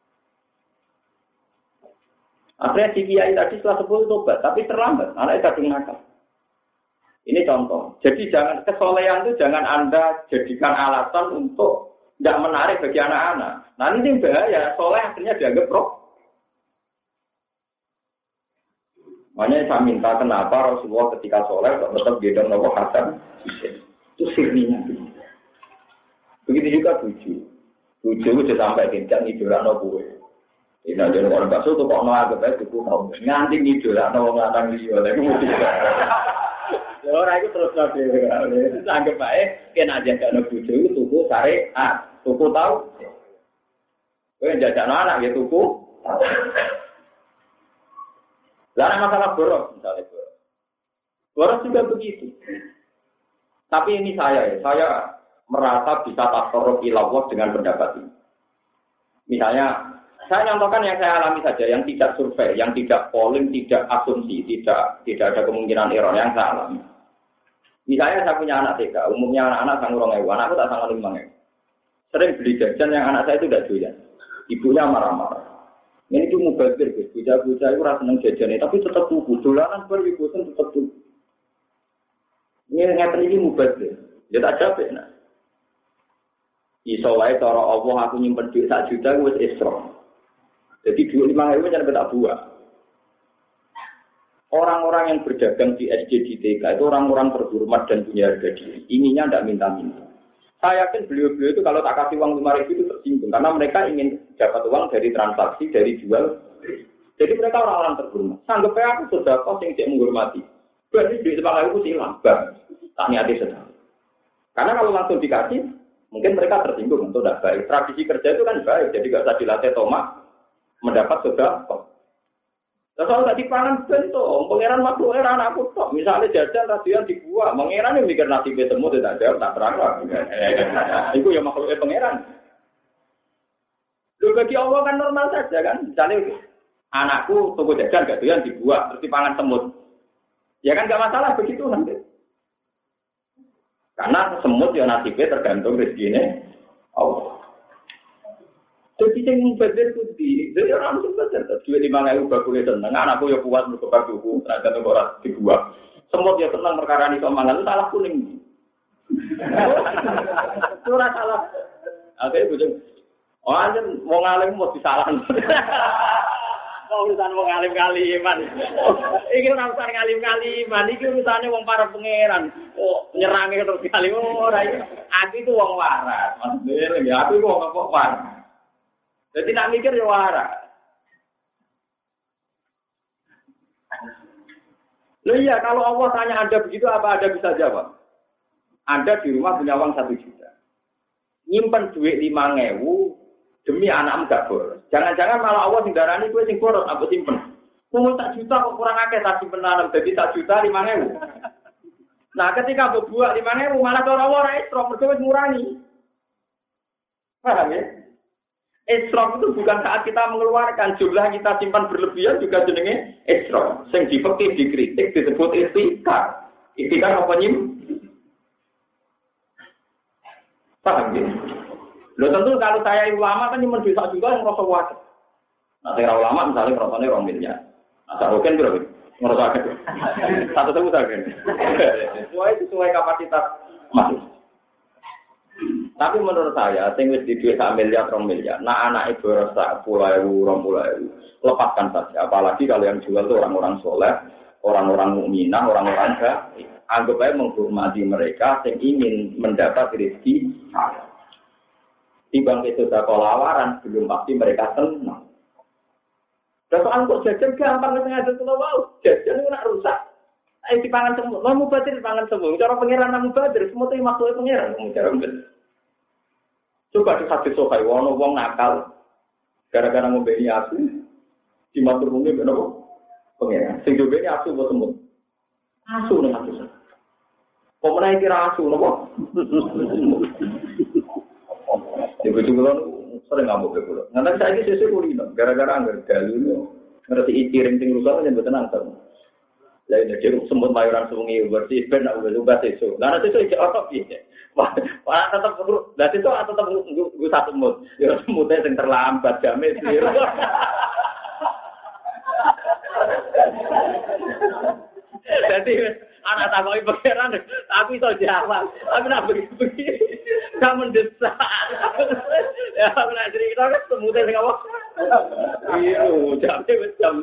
Akhirnya si kiai tadi setelah 10 tobat, tapi terlambat, anaknya kadung nakal. Ini contoh. Jadi jangan kesolehan itu jangan Anda jadikan alasan untuk tidak menarik bagi anak-anak. Nah ini bahaya, soleh akhirnya dianggap roh. Makanya saya minta kenapa Rasulullah ketika soleh tetap gendong Nabi Hasan itu sirninya. Begitu juga buju. Buju itu sampai tidak ngidola Nabi. Ini ada orang bakso tuh kok nolak ke itu mau nganti ngidola Nabi ngantar dia. Orang itu terus nabi. Anggap baik kena aja kalau buju itu tuku syariat, tuku tahu. Kau jajak anak ya tuku. Lalu masalah boros, misalnya boros. Boros juga begitu. Tapi ini saya merasa bisa tasarruf ilallah dengan pendapat ini. Misalnya, saya nyontohkan yang saya alami saja, yang tidak survei, yang tidak polling, tidak asumsi, tidak ada kemungkinan error yang saya alami. Misalnya saya punya anak TK, umumnya anak-anak sang urung ewu, anakku tak sang 5 ewu. Sering beli jajan yang anak saya itu tidak doyan. Ibunya marah-marah. Ini itu mubazir, guys. Bocah-bocah itu rasa seneng jajan, tapi tetap tuku. Dolanan baru bosan tetap tuku. Ini ngeten ini mubazir. Ya tak capek, nah. Iso wae cara Allah aku nyimpen duit 1 juta wis isra. Jadi duit 5.000 jangan tak buah. Orang-orang yang berdagang di SD di TK itu orang-orang terhormat dan punya harga diri. Ininya tidak minta-minta. Saya yakin beliau-beliau itu kalau tak kasih uang 5.000 itu tersinggung. Karena mereka ingin dapat uang dari transaksi, dari jual. Jadi mereka orang-orang terhormat. Sanggup aku sudah kos yang tidak menghormati. Berarti duit 5.000 itu hilang. Tak niati sedang. Karena kalau langsung dikasih, mungkin mereka tersinggung. Itu tidak baik. Tradisi kerja itu kan baik. Jadi tidak usah dilatih tomak. Mendapat sudah kos. Kalau tak dipangan bentuk, pangeran makhluk era anakku tok. Misalnya jajan radian dibuat, pangeran yang mikir nasib temu tidak jawab tak terang lah. Itu ya makhluknya pangeran. Bagi Allah kan normal saja kan. Misalnya Anakku toko jajan gak doyan dibuat terus dipangan semut. Ya kan gak masalah begitu nanti. Karena semut ya nasibnya tergantung rezekinya Allah. Jadi yang berbeda itu jadi orang itu berbeda. Dua 5.000 bakule seneng, anakku ya kuat berkobar buku, tergantung orang dibuat. Semut ya seneng perkara ini somangan itu salah kuning. Itu salah. Oke, bujung. Oh, aja mau ngalim mau disalahkan. Mau urusan wong alim kaliman. Iki ora urusan ngalim kaliman, iki urusane wong para pangeran. Oh, nyerange terus kali ora iki. Aku itu wong waras. Maksudnya ya aku wong apa waras. Jadi nak mikir ya waras. Loh iya, kalau Allah tanya Anda begitu apa Anda bisa jawab? Anda di rumah punya uang 1 juta. Nyimpen duit 5.000 demi anakmu gak boros. Jangan-jangan malah Allah sing darani kowe sing boros apa simpen. Wong 1 juta kok kurang akeh tak simpenan dadi 1 juta 5.000. Nah, ketika berbuat 5.000 malah cara Allah ora istrof mergo wis ngurangi. Paham ya? Istrof itu bukan saat kita mengeluarkan jumlah kita simpan berlebihan juga jenenge istrof. Sing dipekih dikritik disebut istikar. Istikar apa nyim? Paham ya? Loh tentu kalau saya ulama kan nyimpen duit juga yang ngerasa wajar. Nah saya ulama misalnya ngerasanya 2 miliar. Nah saya roken berapa? Ngerasa wajar. 1.000 saja. Sesuai kapasitas masuk. Tapi menurut saya, sing wis di duit 1 miliar, 2 miliar. Nah anak ibu rasa 10.000, 20.000. Lepaskan saja. Apalagi kalau yang jual itu orang-orang soleh, orang-orang mukminah, orang-orang baik. Anggap aja menghormati mereka yang ingin mendapat rezeki halal. Timbang itu sudah kolawaran, belum pasti mereka senang. Dan soal kok jajan gampang sengaja kalau mau jajan itu nak rusak. Di pangan semua, mau mubadir pangan semua. Cara pengiran namu mubadir, semua itu maksudnya pengiran. Coba di hadis sokai, wono wong nakal, gara-gara membeli asu, di matur bumi kenapa? Pengiran. Sing beli asu buat semut. Asu nih asu. Kok menaiki asu, kenapa? Di Bojongkulon sering ngamuk ke pulau. Nanti saya ini sesuai kuliner, gara-gara anggar galu ngerti ciring ting rusak yang betul nangkep. Lain jadi semut mayoran sungai bersih, ben aku juga sesuai. Karena sesuai apa sih? Wah tetap perlu, dan itu tetap gue satu semut. Ya semutnya yang terlambat jamin sih. Jadi anak takoi pangeran, aku iso jawab. Tapi nak begini, gak mendesak. Ya aku nak cerita kan semutnya sing apa? Iya, jamnya wis jam.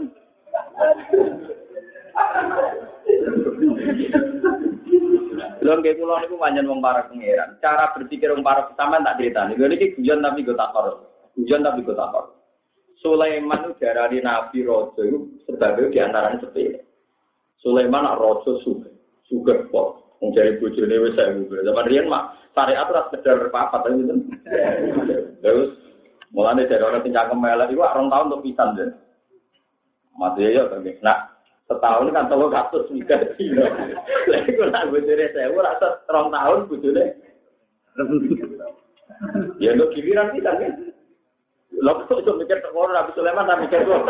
Lha nggih kula niku pancen wong para pangeran. Cara berpikir wong para sampean tak critani. Lha niki guyon tapi go takor. Guyon tapi go takor. Sulaiman itu diarani nabi raja itu sebabnya di antaranya sepele. Sulaiman nak raja sugih kok. Wong jare bojone wis 1000. Zaman riyen mak syariat ora sekedar papat aja gitu. Terus mulane dari orang sing cangkem elek iku 2 tahun untuk pisan ya. Mati ya to. Nah, setahun kan 300 mikir. Lah iku nak bojone 1000 ora 2 tahun bojone. Ya lo giliran pisan kan. Lha kok iso mikir kok ora Nabi Sulaiman ta mikir kok.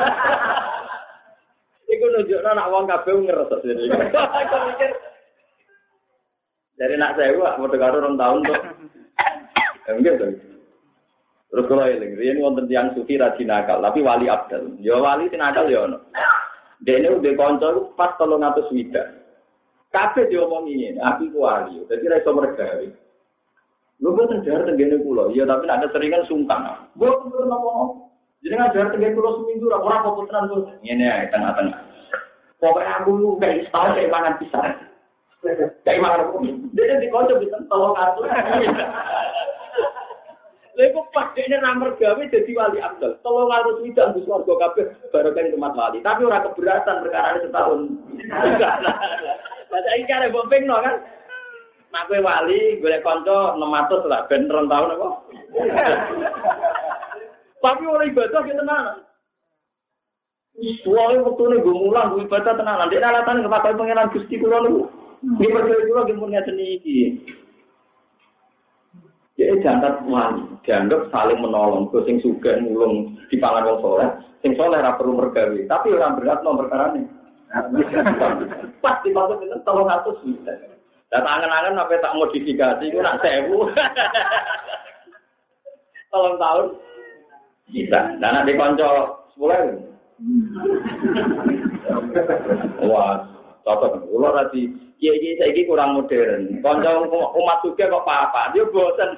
Iku nunjukno nak wong kabeh ngereses iki. Aku mikir dari nak saya mau dengar 2 tahun tuh. Enggak tuh. Terus kalau eling, riyen wonten tiyang sufi rajin nakal, tapi wali abdal. Ya wali sing nakal ya ono. Dene udah kanca pas 300 wida. Kabeh diomongi ngene, aku ku wali. Dadi ra iso mergawe. Lho boten jar tengene kula. Ya tapi nek seringan sungkan. Mboten purun apa. Jadi ngajar tengene kula seminggu ora apa tenan kok. Ngene ae tengah-tengah. Pokoke aku lu kayak setahun kayak mangan pisang. Kayak mangan apa? Dene dikonco bisa 300. Lha pas dekne ra mergawe dadi wali abdal. 300 widak wis warga kabeh barokah tempat wali. Tapi ora keberatan perkara setahun. Lah saiki kare bompengno kan. Mak kowe wali golek kanca 600 lah ben 2 tahun apa. Tapi ora ibadah ki tenan. Suwe wektune nggo mulang nggo ibadah tenan. Nek alasan kepakai pangeran Gusti kula niku. Nggih percaya kula nggih mun ngaten iki. Jadi jangan wali, dianggap saling menolong. Terus sing sugih mulung dipangan wong saleh, sing saleh ora perlu mergawe, tapi ora berat nomor perkarane. Pasti maksud itu 300 juta. Dan angen-angen apa tak modifikasi itu nak 1000. 3 tahun bisa. Dan nanti konco 10. Wah, cocok. Ulo tadi, kiai saiki kurang modern. Konco umat juga kok apa-apa, dia bosan.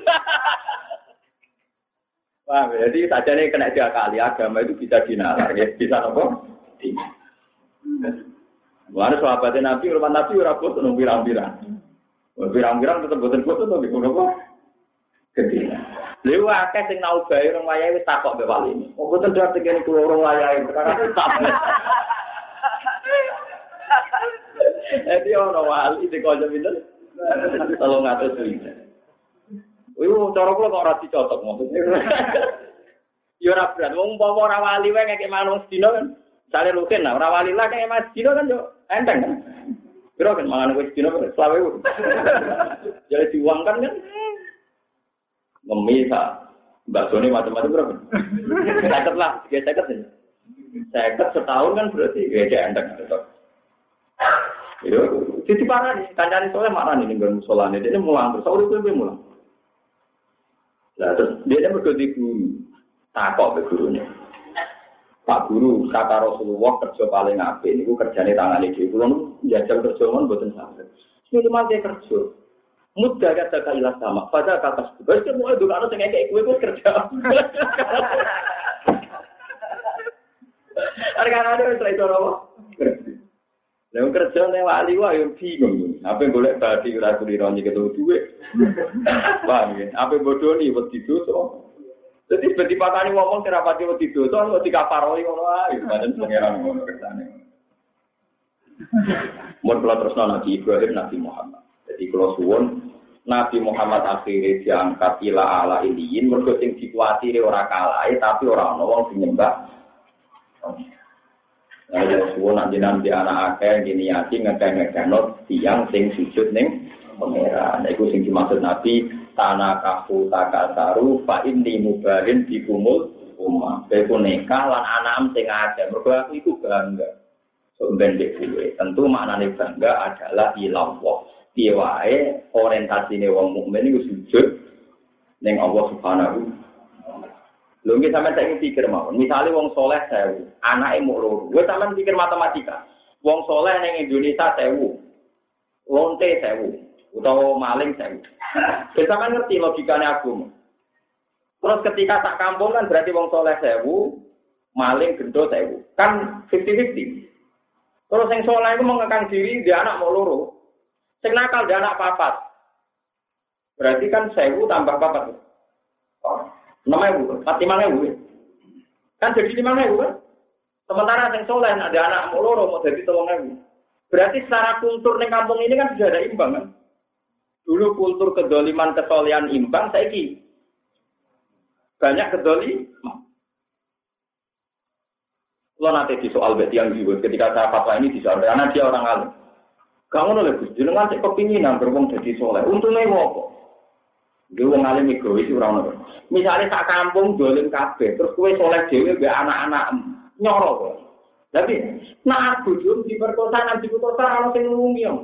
Wah, jadi saja nih kena diakali agama itu bisa dinalar, ya bisa apa? Mana sahabatnya Nabi, rumah Nabi ora bosan nung pirang-pirang. Pirang-pirang tetep bosan-bosan tapi kenapa? Gede. Lha akeh sing nau bae orang wayahe wis takok mbek wali. Kok boten dadi kene kula orang wayahe perkara tak. Ono wali dikonco pinten? 300 juta. Cara kula kok ora dicocok maksudnya. Ya ora berat, wong umpama ora wali wae ngekek manung sedina kan. Sale rutin lah, ora wali lah kaya Mas Dino kan yo enteng kan. Kira kan mangan wis dino selawe. Jadi diuangkan kan. Memisa bakso ini macam-macam berapa? 50 lah, 50 ini. 50 setahun kan berarti ya enteng gitu. Yo, jadi parah nih, kancane soalnya marah nih nggon musolane, dia mulang terus urip kuwi mulang. Lah terus dia mergo di guru. Takok be gurune. Pak Guru, kata Rasulullah kerja paling apik niku kerjane tangane dhewe. Kulo njajal kerja mon mboten saged. Minimal dia kerja. Mudah kata kailah sama. Pada kata sebab itu mau dulu sing ngekek kowe kerja. Arek-arek wis iso ora. Lah kerja ning wali wae yo bingung. Apa golek badi ora kuliro nyekel duwe. Paham ya? Apa bodoni wedi dosa. Jadi seperti patani ngomong terapati wedi dosa kok dikaparoi ngono ae. Pancen pangeran ngono kersane. Mun kula tresno Nabi Ibrahim Nabi Muhammad. Jadi kalau suwun Nabi Muhammad akhirnya diangkat ila ala iliyin mergo sing dikuatiri ora kalahe tapi ora ana wong sing nyembah. Ya suwun nanti anak akeh gini ati ngekek-ngekekno tiyang sing sujud ning pangeran. Iku sing dimaksud Nabi tanah kafu takasaru fa inni mubarin dikumul umma. Beku nikah lan anak sing akeh. Mergo aku iku bangga. Ben dhewe. Tentu maknane bangga adalah ilallah. Piye wae orientasine wong mukmin iku sujud ning Allah Subhanahu. Lho nggih sampeyan tak pikir mawon. Misale wong saleh 1000, anake mung 2. Wis sampeyan pikir matematika. Wong saleh ning Indonesia 1000. Lonte 1000 utawa maling 1000. Wis sampeyan ngerti logikane agama. Terus ketika tak kampung kan berarti wong saleh 1000, maling gendho 1000. Kan 50-50. Terus sing saleh iku mengekang diri dia anak mau 2. Sing nakal dia anak 4. Berarti kan 1000 tambah 4. Oh, 6.000, 5.000. Kan jadi 5.000 kan? Sementara sing saleh ada anak mau 2 mau jadi 3.000. Berarti secara kultur ning kampung ini kan sudah ada imbang kan? Dulu kultur kedoliman kesolehan imbang, saiki banyak kedoliman. Kalau nanti di soal beti yang juga ketika saya fatwa ini disoal karena dia orang alim. Kamu nolak Gus, jenengan sik kepinginan berwong dadi saleh. Untunge apa? Dia wong alim egois ora ono. Misale sak kampung dolim kabeh, terus kowe saleh dhewe mbek anak-anak nyoro kok. Tapi nak bojo diperkosa nang diputus ora ono sing ngumi yo.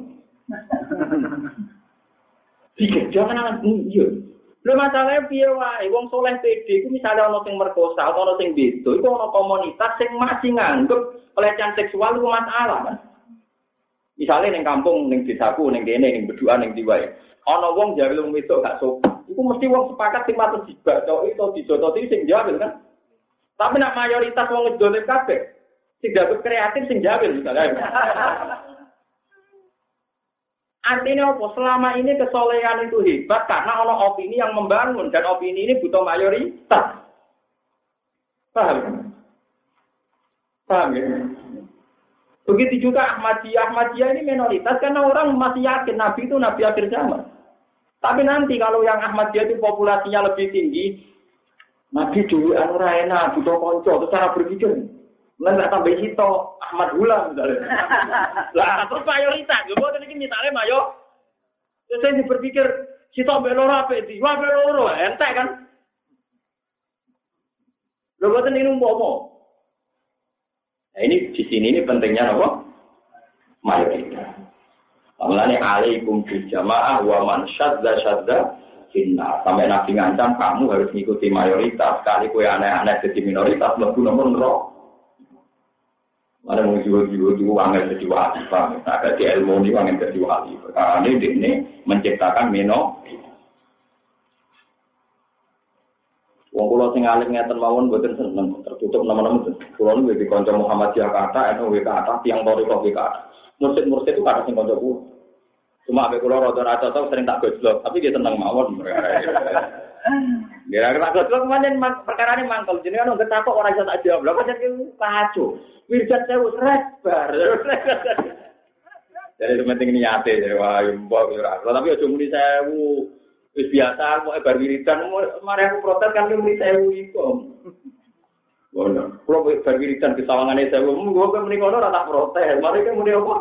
Pikir jangan iya. Lha masalahe piye wae wong saleh pede iku misale ono sing merkosa atau ono sing beda, iku ono komunitas sing masih nganggep pelecehan seksual iku masalah kan. Misalnya ning kampung, ning desaku, ning kene, ning Beduan, ning Diwae. Ana wong jare wong wedok gak sopan. Iku mesti wong sepakat sing patut dibacoki utawa dijototi sing jawil kan. Tapi nek mayoritas wong dolim kabeh, sing dapat kreatif sing jawil misalnya. Artinya apa? Selama ini kesolehan itu hebat karena ana opini yang membangun dan opini ini butuh mayoritas. Paham? Paham ya? Begitu juga Ahmadiyah ini minoritas karena orang masih yakin Nabi itu Nabi akhir zaman. Tapi nanti kalau yang Ahmadiyah itu populasinya lebih tinggi, Nabi dulu ora enak, butuh konco, itu cara berpikir. Nggak tambah hito Ahmad Hulam misalnya. Lah terus mayoritas, gue ini misalnya terus saya berpikir Sitok mbek loro apik di. Wah mbek loro entek kan. Lho boten ini umpama. Nah, ini di sini ini pentingnya apa? Mayoritas. Mulane alaikum bil jamaah wa man syadza finna. Sampai Nabi ngancam kamu harus mengikuti mayoritas. Kali kowe aneh-aneh jadi minoritas mlebu nomor neraka. Ada mau jiwa-jiwa angin jadi wali, agak di ilmu ini angin jadi wali. Karena ini menciptakan minoritas. Wong kula sing alim ngeten mawon mboten seneng tertutup nama-nama. Kula niku di kanca Muhammadiyah kata, NU kata, tiang Thariqah kata. Mursid itu kata sing kanca kula. Cuma ape kula rada cocok sering tak gojlok, tapi dia seneng mawon. Kira-kira gojlok pancen perkarane mangkel. Jenenge ono ketakok ora iso tak jawab. Lha pancen kacau. Wirjat sewu sret bar. Jadi penting niate wah mbok ora. Tapi aja muni sewu. Wis biasa kok bar wiridan mari aku protes kan muni sewu iku. Ngono. Kulo bar wiridan di sawangane sewu, monggo kok muni ngono ora tak protes. Mari kan muni apa?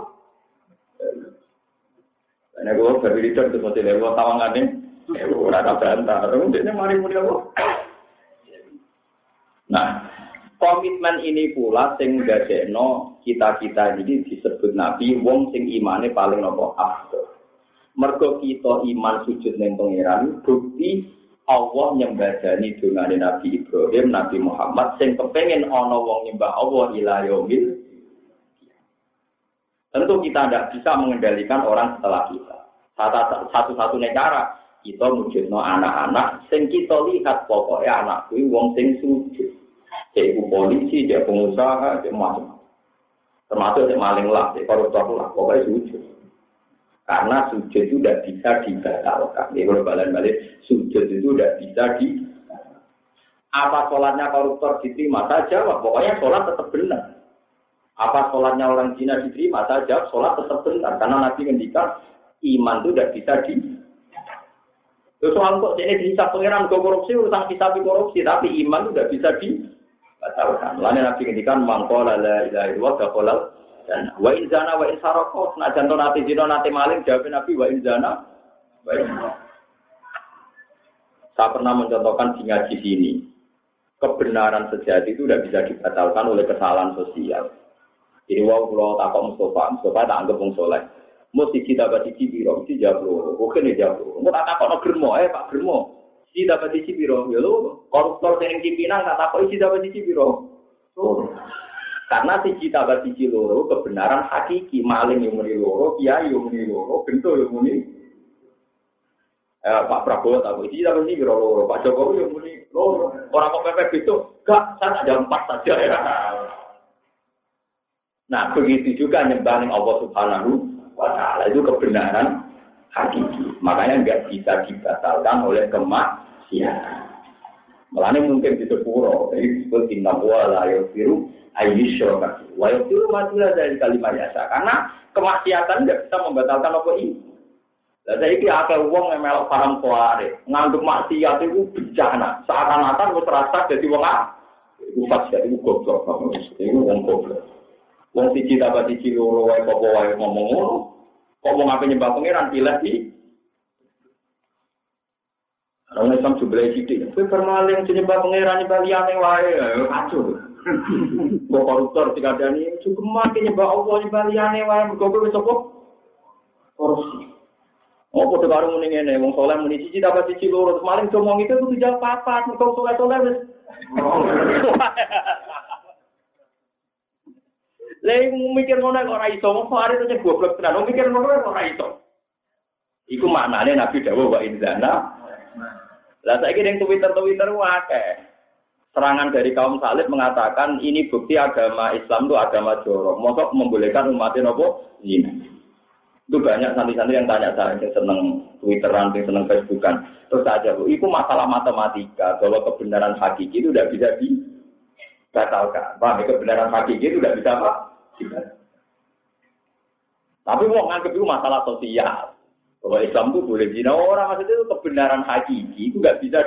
Nek kok bar wiridan terus mesti lewat sawangane ora tak bantah. Dene mari muni apa? Nah, komitmen ini pula sing ndadekno kita-kita ini disebut Nabi wong sing imane paling napa afdal. Mergo kita iman sujud ning pangeran bukti Allah nyembadani dongane Nabi Ibrahim, Nabi Muhammad sing kepengin ana wong nyembah Allah ila yaumil. Tentu kita tidak bisa mengendalikan orang setelah kita. Satu-satunya cara kita wujudno anak-anak sing kita lihat pokoknya anak kuwi wong sing sujud. Dia polisi, dia pengusaha, dia macam. Termasuk dia maling lah, dia koruptor lah, pokoknya sujud. Karena sujud itu tidak bisa dibatalkan. Ini kalau balik sujud itu tidak bisa apa sholatnya koruptor diterima saja, pokoknya sholat tetap benar. Apa sholatnya orang Cina diterima saja, sholat tetap benar. Karena Nabi ngendikan iman itu tidak bisa Terus soal kok ini dihisab pengiran korupsi, urusan hisab korupsi, tapi iman itu tidak bisa batalkan. Lain Nabi ngendikan mangkola la ilaha illallah dakhalal dan wa in zana wa in sarqa najan nate zina nate maling jawab Nabi wa in zana wa in. Saya pernah mencontohkan di ngaji sini. Kebenaran sejati itu tidak bisa dibatalkan oleh kesalahan sosial. Jadi wau kula takok Mustafa tak anggap wong saleh. Mesti kita bati biro, mesti jawab. Oke nih jawab. Engko tak takokno Germo, Pak Germo. Si dapat isi biro, ya lo koruptor yang pimpinan tak tahu isi dapat isi biro. Karena si cita dapat isi loro kebenaran hakiki maling yang muni loro, kiai yang muni loro, bento yang muni. Pak Prabowo tahu isi dapat isi biro loro, Pak Jokowi yang muni loro. Orang kok pepek itu, gak, saya ada 4 saja ya. Nah begitu juga nyembahin Allah Subhanahu wa Ta'ala itu kebenaran hakiki. Makanya nggak bisa dibatalkan oleh kemaksiatan. Melane mungkin di sepuro, jadi disebut inna wa la yaghfiru ayyusyraka. Wa yaghfiru ma duna dari kalimat yasa. Karena kemaksiatan nggak bisa membatalkan apa ini. Lah saiki akeh wong yang melok paham kuare, nganggep maksiat itu bencana. Seakan-akan wis rasa dadi wong iku pasti iku goblok. Iku wong goblok. Wong siji dapat siji loro wae apa wae ngomong ngono. Kok mau ngapain nyembah pangeran pilih di orang Islam jumlah sidik. Kowe permaling nyembah pangeran nyembah liyane wae kacau. Kok koruptor dikandani cukup mati nyembah Allah nyembah liyane wae mergo kowe wis apa? Korupsi. Apa to karo muni ngene wong saleh muni siji dapat siji loro terus maling ngomong itu kudu jawab papat mergo saleh-saleh wis. Lha mikir ngono kok ora iso, mosok arep nyek goblok tenan. Mikir ngono kok ora iso. Iku maknane Nabi dawuh wa inzana. Lah saiki ning Twitter akeh. Serangan dari kaum salib mengatakan ini bukti agama Islam itu agama jorok. Mosok membolehkan umatnya nopo zina. Itu banyak santri-santri yang tanya saya yang seneng Twitteran, yang seneng Facebookan. Terus aja, itu masalah matematika bahwa kebenaran hakiki itu tidak bisa dibatalkan. Paham? Kebenaran hakiki itu tidak bisa apa? Tapi mau nganggep itu masalah sosial. Bahwa Islam itu boleh zina orang, maksudnya itu kebenaran hakiki itu nggak bisa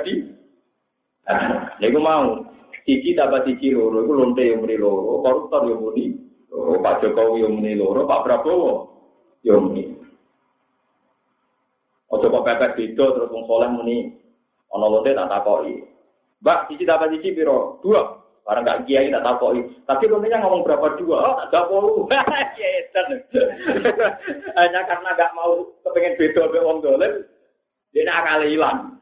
Aku mau siji dapat siji loro, itu lonte yang muni loro, koruptor yang muni, Pak Jokowi yang muni loro, Pak Prabowo yang muni. Ojo kok pepet beda terus wong saleh muni ana lonte tak takoki. Mbak, siji dapat siji piro? 2. Barang gak kiai tak takoki. Tapi lontenya ngomong berapa 2? Oh, tak 20. Hanya karena gak mau kepengen beda mbek wong dolen, dia akal ilang.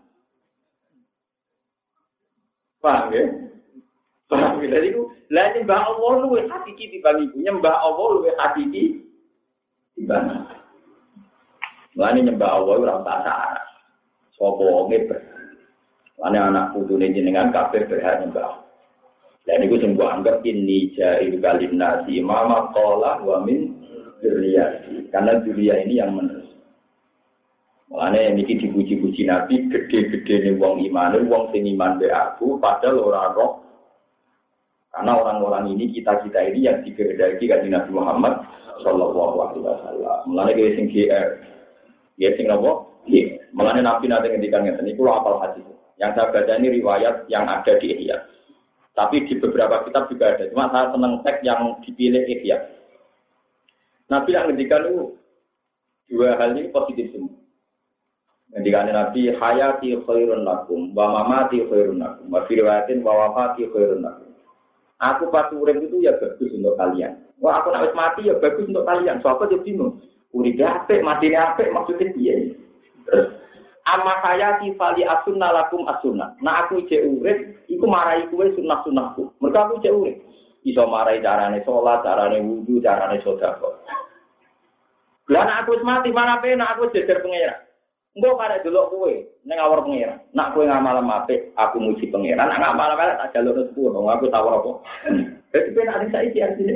Paham ya? Paham ya? Jadi lah nyembah Allah luwih hakiki timbang iku. Nyembah Allah luwih hakiki timbang. Mulane nyembah Allah ora usah syarat. Sapa wonge ber. Mulane anak putune jenengan kabeh berhak nyembah. Dan itu sing gua anggap ini jahil kalim nasi mama qala wa min dzurriyyati. Karena dzurriyyah ini yang menerus. Mulane niki dipuji-puji Nabi gede-gedene wong iman, wong sing iman be aku padahal ora roh. Karena orang-orang ini kita-kita ini yang dikehendaki kanjeng Nabi Muhammad sallallahu alaihi wasallam. Mulane ge sing GR. Ya sing apa? Nggih. Mulane Nabi nate ngendikan ngeten niku hafal hadis. Yang saya baca ini riwayat yang ada di Ihya. Tapi di beberapa kitab juga ada. Cuma saya senang teks yang dipilih Ihya. Nabi yang ngendikan itu 2 hal ini positif semua. Ngendikane Nabi hayati khairun lakum wa mamati khairun lakum wa firwatin wa wafati khairun lakum. Aku pas urip itu ya bagus untuk kalian. Wah aku nek wis mati ya bagus untuk kalian. Sopo yo bingung. Uripe apik, matine apik maksudnya piye? Terus amma hayati fali asunna lakum asunna. Nah aku cek urip iku marai kuwe sunah-sunahku. Mergo aku cek urip. Iso marai carane salat, carane wudu, carane sedekah. Lah nek aku wis mati mana penak aku jejer pengira. Engko karek delok kowe ning awor pengira. Nak kowe ngamal apik, aku muji pengira. Nak ngamal elek tak jaluk rezeki wong aku tawar apa. Dadi penak sing saiki artine.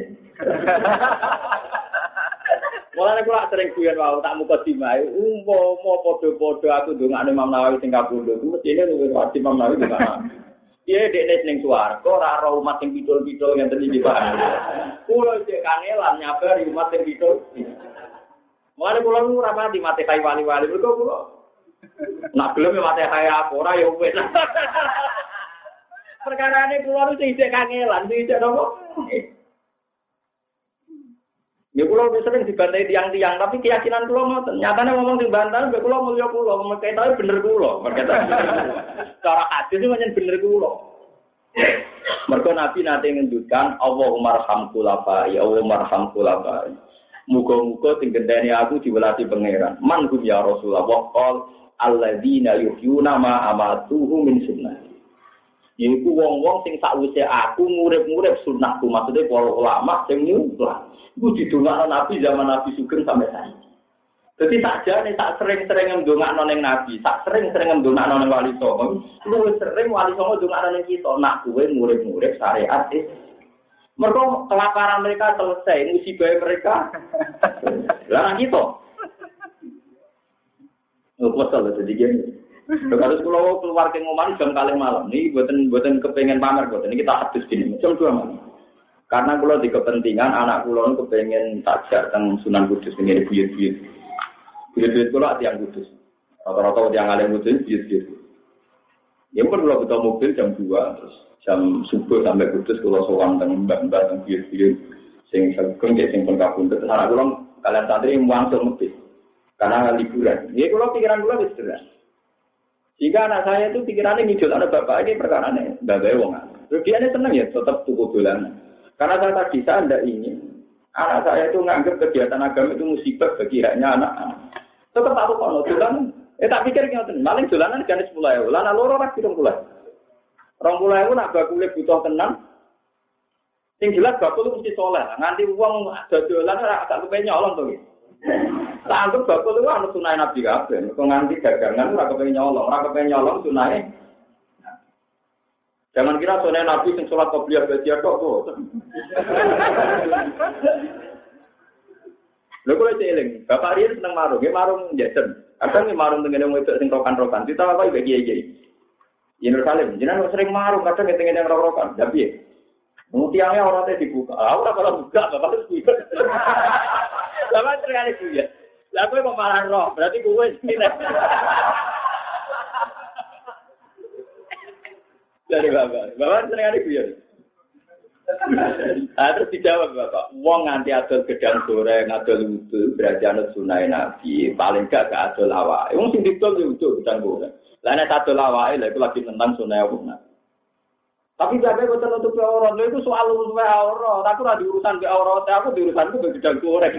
Mulane kula sering guyon wae tak muka dimae umpama padha-padha aku ndongakne Imam Nawawi sing kapundhut mestine luwih wajib Imam Nawawi ndongakne. Piye dekne ning swarga ora ora umat sing pidul-pidul ngenten iki Pak. Kula cek kangelan nyabari umat sing pidul. Mulane kula ora mati mate kai wali-wali mergo kula nak gelem mate kai aku ora ya wis. Perkarane kula nu sing cek kangelan sing cek nopo? Ya kula wis sering dibantai tiang-tiang tapi keyakinan kula ngoten. Nyatane ngomong sing bantal mbek kula mulya kula, meketae bener kula. Cara hadis itu pancen bener kula. Mergo Nabi nate ngendukan Allahumma arham khulafa, ya Allahumma arham khulafa. Muga-muga sing gendeni aku diwelati pangeran. Man hum ya Rasulullah qol alladzina yuhyuna ma amatuhu min sunnah. Iku wong-wong sing sakwise aku murid-murid sunnahku, maksudnya para ulama sing nyumpah. Iku didongakno Nabi zaman Nabi Sugeng sampai saiki. Dadi sakjane tak sering-sering ndongakno ning Nabi, tak sering-sering ndongakno ning Wali Songo. Luwih sering Wali Songo ndongakno ning kita, nak kuwe murid-murid syariat iki. Mergo kelaparan mereka selesai, musibah mereka. Lah kita. Masalah dadi gini. Kalau kula keluar ke ngomong jam 4 malam, niki mboten kepengin pamer mboten. Niki tak hadis gini, jam 2 malam. Karena kula di kepentingan anak kula niku kepengin tajak teng Sunan Kudus ngene buyut-buyut. Buyut-buyut kula tiyang Kudus. Rata-rata tiyang alim Kudus buyut-buyut. Ya pun kula butuh mobil jam 2 terus jam subuh sampai Kudus kula sowan teng mbah-mbah teng buyut-buyut sing sageng sing pun kabundut. Anak kula kalian santri wangsul mobil. Karena liburan. Ya kula pikiran kula wis jelas. Jika anak saya itu pikirannya ngidol anak bapak ini perkara nih, bapak wong. Dia ini senang ya tetap tuku dolanan. Karena saya tadi saya tidak ingin anak saya itu menganggap kegiatan agama itu musibah bagi rakyatnya anak-anak. Tetap aku kalau dolanan, tak pikir ngeten, maling dolanan kan 10.000, lana loro rak 70.000. 20.000 nak bakule butuh tenang. Sing jelas bakul mesti soleh. Nganti wong dodolan ora agak kepen nyolong to. Tak anggap bakul itu anu sunah Nabi kabeh. Kok nganti dagangan ora kepen nyolong sunahe. Jangan kira sunah Nabi sing salat qobliyah badiah tok. Lha kok eling, Bapak Riyen seneng marung, nggih marung jajan. Kadang nggih marung tengene wedok sing rokan-rokan. Kita apa iki kiai-kiai. Yerusalem, jenengan sering marung kadang tengene rokan-rokan. Lah piye? Mutiangnya orangnya dibuka. Ora kalau buka, Bapak harus buka. Bapak terkali buya. Lah kowe kok malah roh, berarti kowe sine. Dari Bapak terkali buya. Terus dijawab Bapak, wong nganti adol gedang goreng, adol wudu, berarti anut sunah Nabi. Paling gak adol awake. Wong sing didol wudu gedang goreng. Lah nek adol awake lha iku lagi tentang sunah Nabi. Tapi sampai kok tertutup aurat, itu soal urusan aurat. Aku ora diurusan ke aurat, aku diurusanku ke gedang goreng.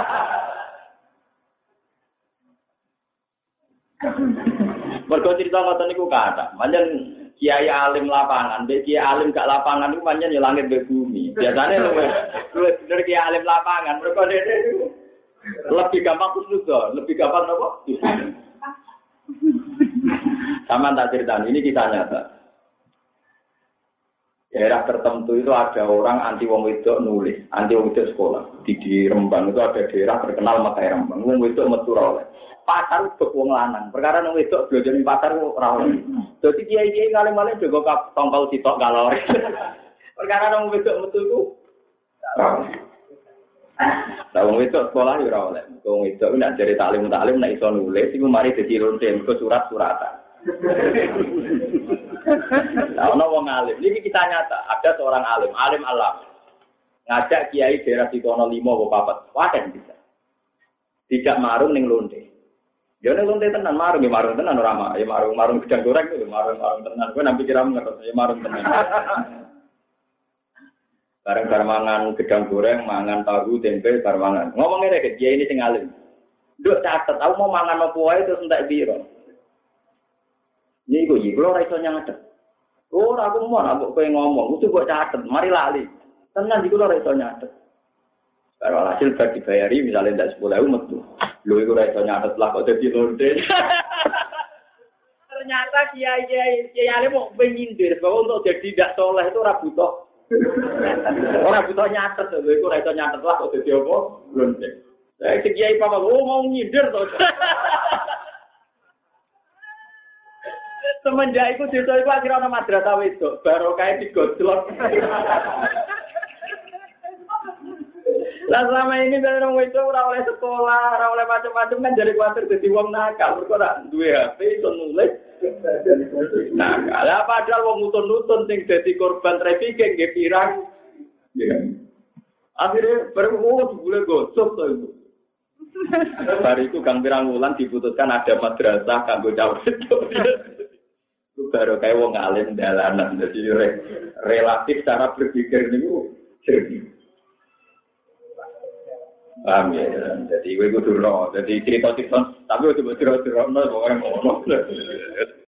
Mergo cerita ngoten niku kata, pancen kiai alim lapangan, mbek kiai alim gak lapangan niku pancen ya langit mbek bumi. Biasane luwih bener kiai alim lapangan, mergo dene lebih gampang kusnudon, lebih gampang apa? Sama tak ceritain, ini kita nyata. Daerah tertentu itu ada orang anti wong wedok nulis, anti wong wedok sekolah. Di Rembang itu ada daerah terkenal Makai Rembang. Wong wedok metu ora oleh. Pasar untuk wong lanang. Perkara wong wedok belajar ning pasar ora oleh. Dadi kiai-kiai ngalim-alim juga tongkol sitok galor. Perkara wong wedok metu iku ora oleh. Lah wong wedok sekolah ora oleh. Wong wedok nek jare taklim nek iso nulis iku mari dadi lonte mergo surat-suratan. Nah, ono wong alim. Ini kita nyata. Ada seorang alim alam. Ngajak kiai daerah Sikono 5 apa 4. Waden bisa. Tidak marung ning lonte. Dia ning lonte tenan marung tenan ora mah. Ya marung gedang goreng itu marung tenan. Kowe nampi kira ngerti ya marung tenan. Bareng mangan gedang goreng, mangan tahu, tempe, bareng mangan. Ngomong ngene ke kiai ini sing alim. Nduk catet, aku mau mangan apa wae terus entek piro. Niku iki kula ora iso nyatet. Ora aku mau nak kowe ngomong, kudu kok catet, mari lali. Tenan iki kula ora iso nyatet. Karo hasil bar dibayari misalnya ndak 10.000 metu. Lho iku ora iso nyatet lah kok dadi lonte. Ternyata kiai ale mau penyindir bahwa untuk jadi tidak soleh itu ora butuh. Ora butuh nyatet, lho iku ora iso nyatet lah kok dadi apa? Lonte. Lah kiai papa mau nyindir to. Semenjak itu desa itu akhirnya ada madrasah wedok, baru kayak digojlok. Lah selama ini dari orang wedok ora oleh sekolah, ora oleh macam-macam kan jadi kuatir jadi wong nakal, mergo ora duwe HP iso nulis. Nah, kalau padahal wong nutun-nutun sing dadi korban trafficking nggih pirang. Akhirnya baru boleh gosok to itu. Hari itu Kang Pirang Wulan diputuskan ada madrasah kanggo cawet. Baru kayak wong alim dalanan, jadi relatif cara berpikir ini jernih. Paham ya, jadi gue kudu jadi cerita-cerita, tapi udah cerita-cerita orang ngomong.